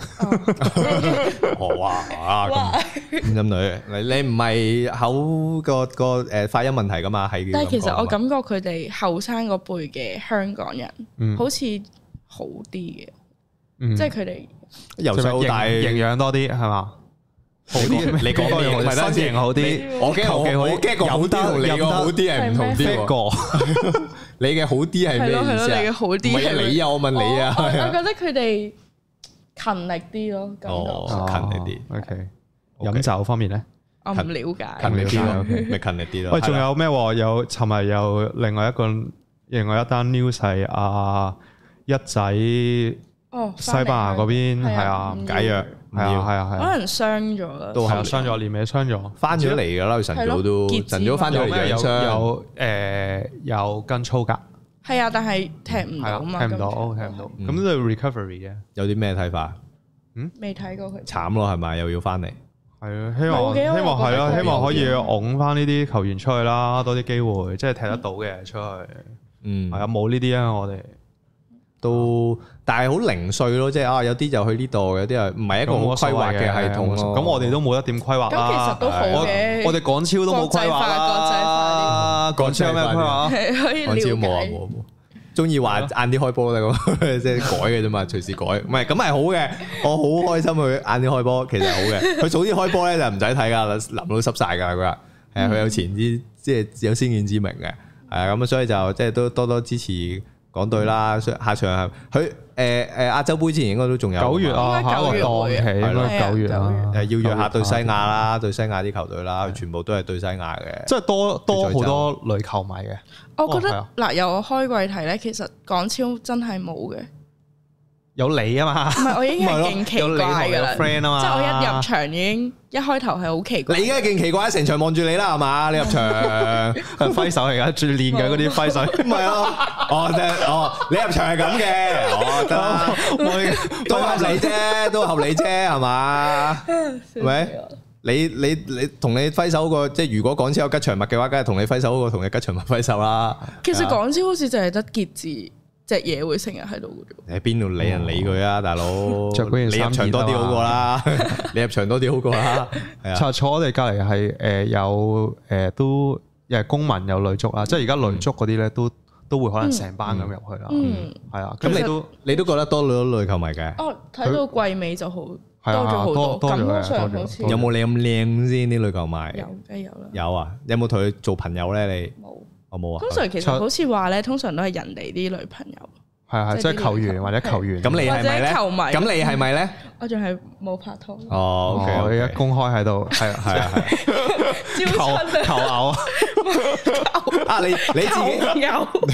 哇！咁女，你唔係口個發音問題㗎嘛？係。 但係其實我感覺佢哋後生嗰輩嘅香港人，好似好啲嘅。即係佢哋由細到大營養多啲係嘛？好啲，你講嘅身形好啲， 我驚個好啲同你個好啲係唔同啲喎。你嘅好啲係咩意思啊？ 你嘅好啲， 唔係你啊！我問你啊！ 我覺得佢哋勤力啲咯，感覺勤力啲。 OK，飲酒方面咧， 我唔了解。 勤力啲咯，咪勤力啲咯。 喂，仲有咩？有尋日有另外一單 news 係一仔。西班牙嗰邊係啊， 解約， 係啊，可能傷咗啦， 都係傷咗，年尾傷咗， 翻咗嚟㗎啦，晨早都晨早翻咗嚟有跟操㗎， 係啊，但係踢唔到嘛， 踢唔到，咁都 recovery 嘅， 有啲咩睇法？ 未睇過佢， 慘咯係咪？又要翻嚟？ 係啊，希望係咯，希望可以擁翻呢啲球員出去啦，多啲機會，即係踢得到嘅出去。係啊，冇呢啲啊，我哋。 都，但係好零碎咯，即係有啲就去呢度，有啲係唔係一個好規劃嘅系統咯。 咁我哋都冇得點規劃啦。 咁其實都好嘅。 我哋港超都冇規劃啦。港超有咩規劃？ 港超冇啊冇。中意話晏啲開波咧咁，即係改嘅啫嘛，隨時改。唔係咁係好嘅，我好開心佢晏啲開波，其實係好嘅。佢早啲開波咧就唔使睇噶，淋到濕晒噶佢話。係啊，佢有前知，即係有先見之明嘅。係啊，咁所以就即係都多多支持港隊啦。下場佢亞洲杯之前應該都仲有 9月啊，下個檔期應該9月啊。 要約下對西亞啦，對西亞啲球隊啦，全部都係對西亞嘅。 即係多好多女球迷嘅。 我覺得嗱，由我開季睇咧，其實港超真係冇嘅。 有你啊嘛？唔係，我已經係勁奇怪㗎啦。 friend 啊嘛， 即係我一入場已經一開頭係好奇怪。 你而家勁奇怪，成場望住你啦，係嘛？你入場揮手而家最練嘅嗰啲揮手， 唔係啊？你入場係咁嘅，得，都合理啫，都合理啫，係嘛？係咪？你同你揮手個，即係如果港超有吉祥物嘅話，梗係同你揮手嗰個同你吉祥物揮手啦。 其實港超好似就係得傑志隻嘢會成日喺度嘅啫。 喺邊度理人理佢啊，大佬！你入場多啲好過啦，你入場多啲好過啦。係啊， 坐我哋隔離係有都又係公民有女足啦，即係而家女足嗰啲咧都會可能成班咁入去啦。係啊，咁你都覺得多咗女球迷嘅？ 哦，睇到季尾就好。多咗好多，感覺上好似有冇你咁靚先啲女球迷？ 有，梗係有啦。 有啊，有冇同佢做朋友咧？你冇，我冇啊。 通常其實好似話咧，通常都係人哋啲女朋友。 係，即係球員或者球員。 咁你係咪咧？ 球迷。 咁你係咪咧？ 我仲係冇拍拖。 哦，OK，我而家公開喺度，係啊。求偶啊！你自己。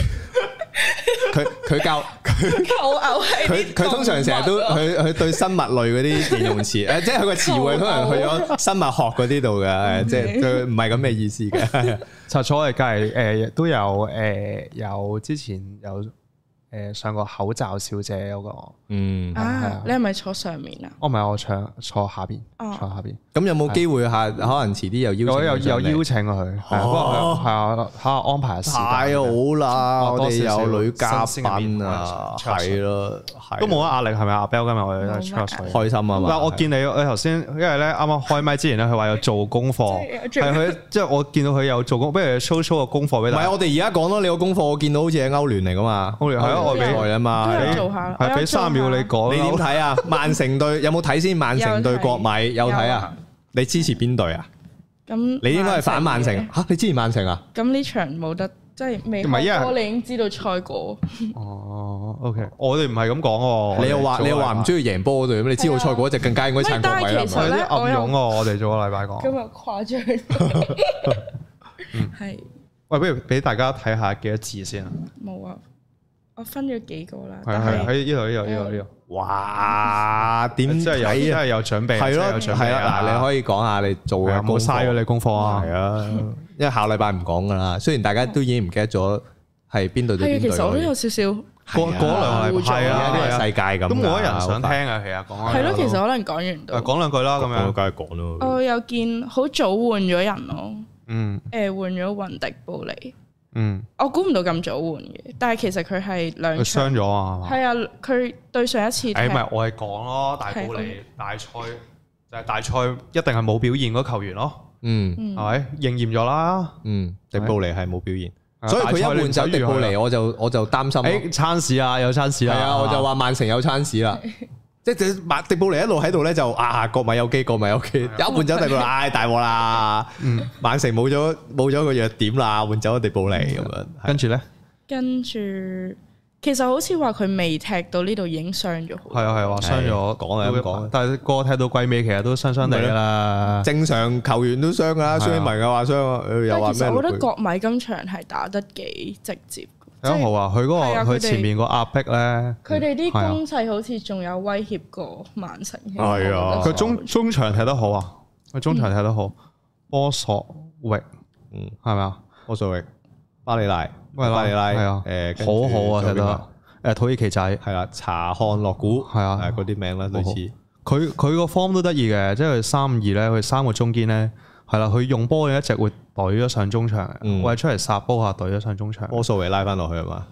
佢教求偶係佢通常成日都佢對生物類嗰啲形容詞誒，即係佢個詞彙通常去咗生物學嗰啲度嘅，即係佢唔係咁嘅意思嘅。 查錯我哋隔籬都有之前有上過口罩小姐嗰個， 你係咪坐上面啊？ 我唔係，我坐下邊，坐下邊。 咁有冇機會可能遲啲有邀請佢？不過係啊，睇下安排下時間。 太好啦！我哋有女嘉賓啊，係咯， 都冇乜壓力係咪？阿 Bell 今日我哋都係開心啊嘛！ 嗱，我見你頭先，因為咧啱啱開麥之前咧，佢話有做功課，係佢即係我見到佢有做功，不如 show 個功課俾大家。 唔係，我哋而家講咯，你個功課我見到好似係歐聯嚟噶嘛？歐聯係啊，外比賽啊嘛， 係俾3秒你講。 你點睇啊？曼城對有冇睇先？曼城對國米有睇啊？你支持邊隊啊？ 咁你應該係反曼城嚇？你支持曼城啊？ 咁呢場冇得，即係未開波，你已經知道賽果。 哦，OK，我哋唔係咁講喎。你又話唔中意贏波嗰隊，咁你知道賽果就更加應該撐國米啦。 有啲暗湧喎，我哋做個禮拜講。 今日誇張。係。 喂，不如俾大家睇下幾多字先啊？ 冇啊。我分咗幾個啦， 係喺呢度。 哇！點真係有準備， 係咯，係啦。嗱，你可以講下你做嘅功課，冇嘥咗你功課啊。 係啊，因為下禮拜唔講噶啦。雖然大家都已經唔記得咗係邊隊對邊隊。 其實我都有少少過兩個禮拜，係啊， 呢個世界咁， 都冇乜人想聽啊。其實講係咯，其實可能講完都講兩句啦，咁樣梗係講咯。 我有見好早換咗人咯，換咗雲迪布尼。我估唔到咁早換嘅，但係其實佢係兩場傷咗啊， 係啊，佢對上一次唔係我係講咯，大布尼大賽就係大賽一定係冇表現嗰球員咯，係咪應驗咗啦？ 迪布尼係冇表現，所以佢一換走迪布尼，我就擔心。 餐市啊，有餐市啊， 係啊，我就話曼城有餐市啦。即係迪布尼一路喺度咧，就國米有機，國米有機，一換走迪布尼，大鑊啦！曼城冇咗個弱點啦，換走咗迪布尼咁樣。 跟住咧， 其實好似話佢未踢到呢度已經傷咗。係啊，話傷咗，講係咁講。但係個踢到季尾，其實都傷地㗎啦。 正常球員都傷㗎啦，孫興慜嘅話傷，又話咩？ 其實我覺得國米今場係打得幾直接。 好啊！佢佢前面個壓迫咧， 佢哋啲攻勢好似仲有威脅過曼城。 係啊， 佢中場踢得好啊！佢中場踢得好，波索域，係咪啊？ 波索域、巴里拉， 係啊，好好啊，踢得土耳其仔係啦，查漢諾古係啊，嗰啲名啦，類似。 佢個 form 都得意嘅，即係佢3-2咧，佢3個中堅咧。係啦，佢用波一直會隊咗上中場，或者出嚟殺波下隊咗上中場。 波數維拉翻落去係嘛？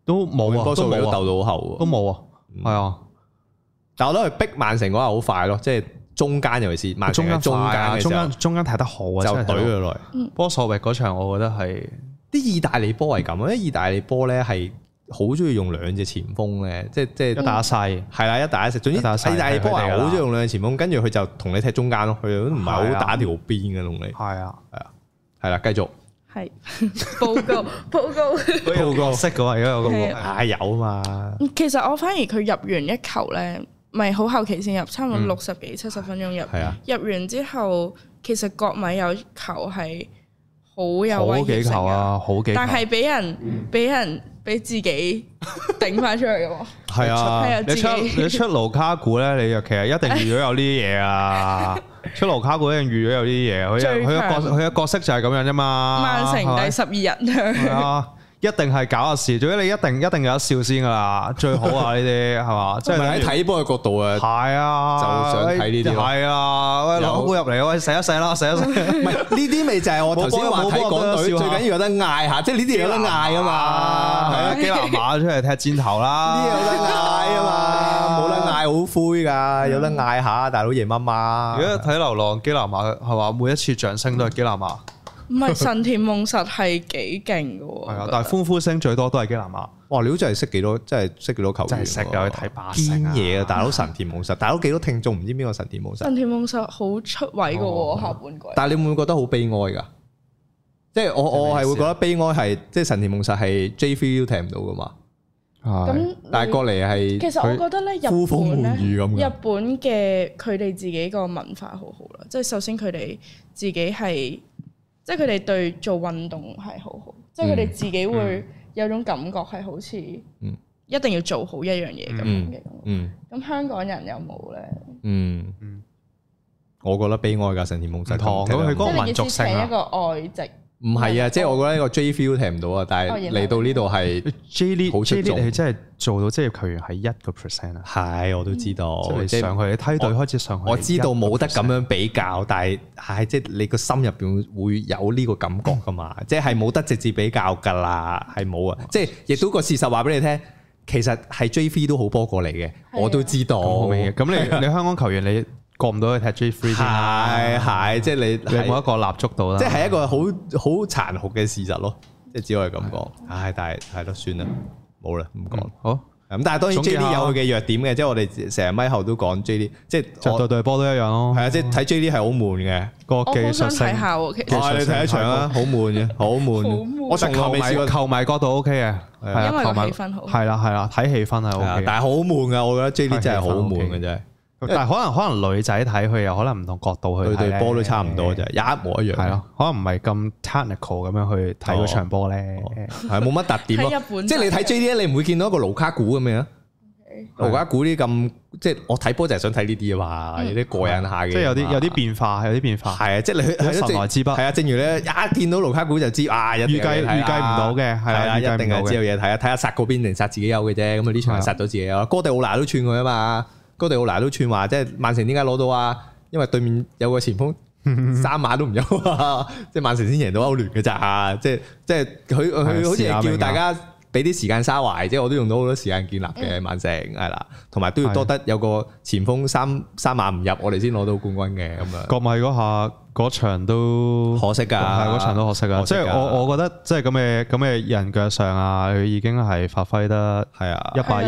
都冇啊， 波數都鬥到好後， 都冇啊，係啊。 但我覺得佢逼曼城嗰下好快咯，即係中間尤其是曼城嘅中間踢得好啊， 就懟佢落嚟。 波索域嗰場，我覺得係啲意大利波係咁，因為意大利波咧係好中意用兩隻前鋒咧，即係一打一細， 係啦，一打一細。總之意大利波係好中意用兩隻前鋒，跟住佢就同你踢中間咯，佢都唔係好打條邊嘅同你。 係啊， 係啦，繼續。 係報告識嘅話，而家有個有嘛？ 其實我反而佢入完一球咧，咪好後期先入，差唔多60幾70分鐘入。入完之後，其實國米有球係好有威脅性啊， 好幾球， 但係俾自己頂翻出嚟嘅喎。 係啊，你出盧卡古咧，你其實一定預咗有呢啲嘢啊。出盧卡古一定預咗有啲嘢，佢嘅角色就係咁樣啫嘛。 曼城第12人。 係啊，一定係搞下事，總之你一定有得笑先噶啦，最好啊呢啲係嘛？即係喺睇波嘅角度啊， 係啊， 就想睇呢啲。 係啊，喂，攞杯入嚟，喂，洗一洗啦，洗一洗。 唔係呢啲咪就係我頭先話睇港隊最緊要有得嗌下，即係呢啲有得嗌啊嘛。 係啊，基拿馬出嚟踢箭頭啦， 呢啲有得嗌啊嘛，冇得嗌好灰㗎，有得嗌下大佬夜媽媽。 如果睇流浪基拿馬係嘛，每一次掌聲都係基拿馬。 唔係神田夢實係幾勁嘅喎， 係啊，但係歡呼聲最多都係基拿馬。 哇！你好似係識幾多？真係識幾多球員？ 真係識啊！去睇巴西堅嘢啊！大佬神田夢實，大佬幾多聽眾唔知邊個神田夢實？ 神田夢實好出位嘅喎，下半季。 但係你會唔會覺得好悲哀㗎？即係我係會覺得悲哀係，即係神田夢實係 J3 都踢唔到㗎嘛。 咁但係過嚟係， 其實我覺得咧，日本嘅佢哋自己個文化好好啦。即係首先佢哋自己係。即係佢哋對做運動係好好，即係佢哋自己會有種感覺係好似一定要做好一樣嘢咁樣嘅。咁香港人有冇咧？ 我覺得悲哀㗎，神田夢實咁佢嗰個民族性一個外籍。 唔係啊，即係我覺得呢個 J feel 踢唔到啊，但係嚟到呢度係 J League 好出眾， 係真係做到職業球員係1% 啊！ 係，我都知道。 即係上去你梯隊開始上去， 我知道冇得咁樣比較，但係即係你個心入邊會有呢個感覺噶嘛？即係冇得直接比較㗎啦，係冇啊！即係亦都個事實話俾你聽，其實係 J3 都好波過嚟嘅，我都知道。 咁你香港球員你過唔到去踢 J3 先係，即係你冇一個立足到啦。 即係一個好殘酷嘅事實咯，即係只可以咁講。但係係咯，算啦，冇啦，唔講。好咁，但係當然 J D 有佢嘅弱點嘅，即係我哋成日咪後都講 J D， 即係對波都一樣咯。係啊，即係睇 J D 係好悶嘅個技術性。你睇一場啊，好悶嘅，好悶。我從來未試過球迷角度 OK 嘅， 因為個氣氛好。 係啦，睇氣氛係 OK， 但係好悶噶，我覺得 J D 真係好悶嘅真係。 但係可能女仔睇佢又可能唔同角度去睇， 對波都差唔多啫，一模一樣。係咯， 可能唔係咁 technical 咁樣去睇嗰場波咧， 係冇乜特點咯。即係你睇 JD 你唔會見到一個盧卡古咁樣。盧卡古啲咁，即係我睇波就係想睇呢啲啊嘛，有啲過癮下嘅。即係有啲變化，係啊，即係你神來之筆。 係啊，正如咧一見到盧卡古就知啊，預計唔到嘅，係啊， 一定係知道嘢睇啊，睇下殺嗰邊定殺自己有嘅啫。咁啊呢場係殺咗自己有，哥迪奧拿都串佢啊嘛。哥迪奧拿都串話，即係曼城點解攞到啊？因為對面有個前鋒3碼都唔有啊！即係曼城先贏到歐聯嘅咋？即係佢好似係叫大家俾啲時間沙懷，即係我都用到好多時間建立嘅曼城係啦，同埋都要多得有個前鋒三碼唔入，我哋先攞到冠軍嘅咁樣。 國米嗰場都可惜㗎， 嗰場都可惜㗎。即係我覺得即係咁嘅人腳上啊，佢已經係發揮得係啊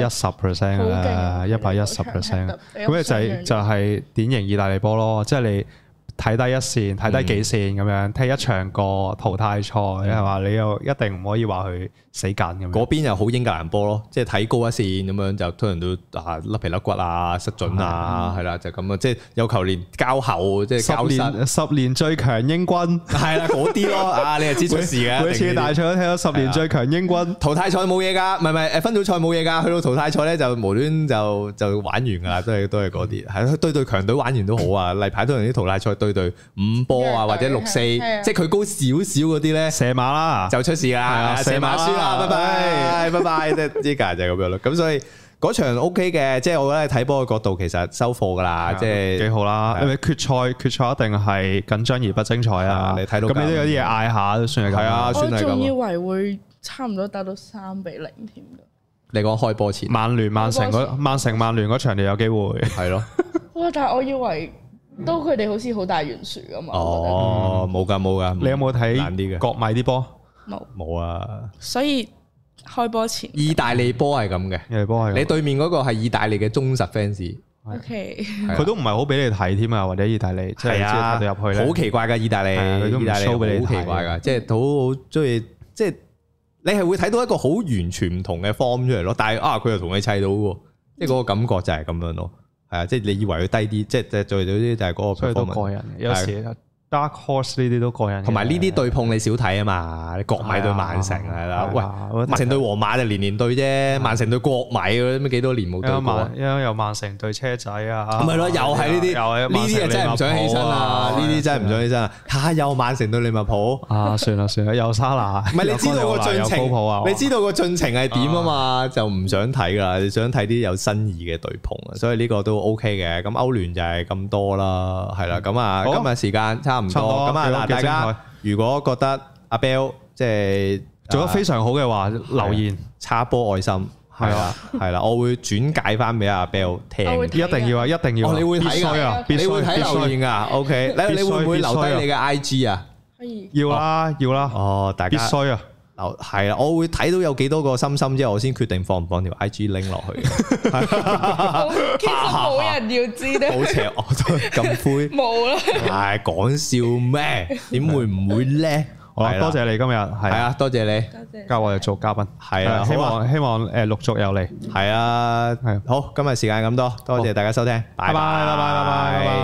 110%啦，110%。咁就係典型意大利波咯，即係你睇低一線，睇低幾線咁樣，踢一場過淘汰賽係嘛？你又一定唔可以話佢死緊咁。 嗰邊又好英格蘭波咯，即係睇高一線咁樣就通常都甩皮甩骨啊、失準啊，係啦就咁啊，即係有球連交後即係交失。 10年最強英軍係啦嗰啲咯，啊你係知出事嘅。 每次大賽都睇到10年最強英軍。 淘汰賽冇嘢㗎，唔係分組賽冇嘢㗎，去到淘汰賽咧就無端就玩完㗎啦，都係嗰啲係對強隊玩完都好啊，例牌通常啲淘汰賽對5波啊或者6-4，即係佢高少少嗰啲咧射馬啦就出事啦，射馬輸啦，拜拜，即係就係咁樣咯。咁所以嗰場 OK 嘅，即係我覺得睇波嘅角度其實收貨噶啦，即係幾好啦。因為決賽一定係緊張而不精彩啊！你睇到咁你都有啲嘢嗌下都算係咁。係啊，算係咁。我仲以為會差唔多打到3-0添㗎。 你講開波前， 曼聯、曼城嗰場就有機會，係咯。 哇！但係我以為都佢哋好似好大懸殊噶嘛。 哦，冇㗎。 你有冇睇國米啲波？ 冇啊。 所以開波前， 意大利波係咁嘅，你對面嗰個係意大利嘅忠實 fans。 OK， 佢都唔係好俾你睇添啊，或者意大利即係睇到入去咧， 好奇怪㗎意大利， 佢都唔 show 俾你睇， 好奇怪㗎，即係好中意，即係你係會睇到一個好完全唔同嘅 form 出嚟咯。但係佢又同你砌到喎，即係嗰個感覺就係咁樣咯。係啊，即係你以為佢低啲，即係做到啲就係嗰個 performance。所以都過癮，有時。Dark Horse 呢啲都過癮，同埋呢啲對碰你少睇啊嘛，你國米對曼城係啦，喂，曼城對皇馬就年年對啫，曼城對國米嗰啲幾多年冇對過， 因為有曼城對車仔啊， 唔係咯，又係呢啲，呢啲真係唔想起身啊，呢啲真係唔想起身啊，嚇又曼城對利物浦啊，算啦，有沙拿，唔係你知道個進程，你知道個進程係點啊嘛，就唔想睇噶，你想睇啲有新意嘅對碰啊，所以呢個都 OK 嘅，咁歐聯就係咁多啦，係啦，咁啊今日時間差唔多咁啊嗱，大家如果覺得阿 Bell 即係做得非常好嘅話，留言插波愛心係啦，我會轉介翻俾阿 Bell 聽， 一定要啊，一定要， 你會睇噶， 你會睇留言噶 ，OK，你會唔會留低你嘅 IG 啊？ 可以， 要啦， 哦，大家必須啊！ 係啦，我會睇到有幾多個心心之後，我先決定放唔放條 IG link 落去。 其實冇人要知咧， 好邪惡咁灰， 冇啦。 係講笑咩？點會唔會咧？ 好啦，多謝你今日係啊，多謝你交我哋做嘉賓， 係啊， 希望陸續有嚟， 係啊，係好，今日時間咁多，多謝大家收聽，拜拜。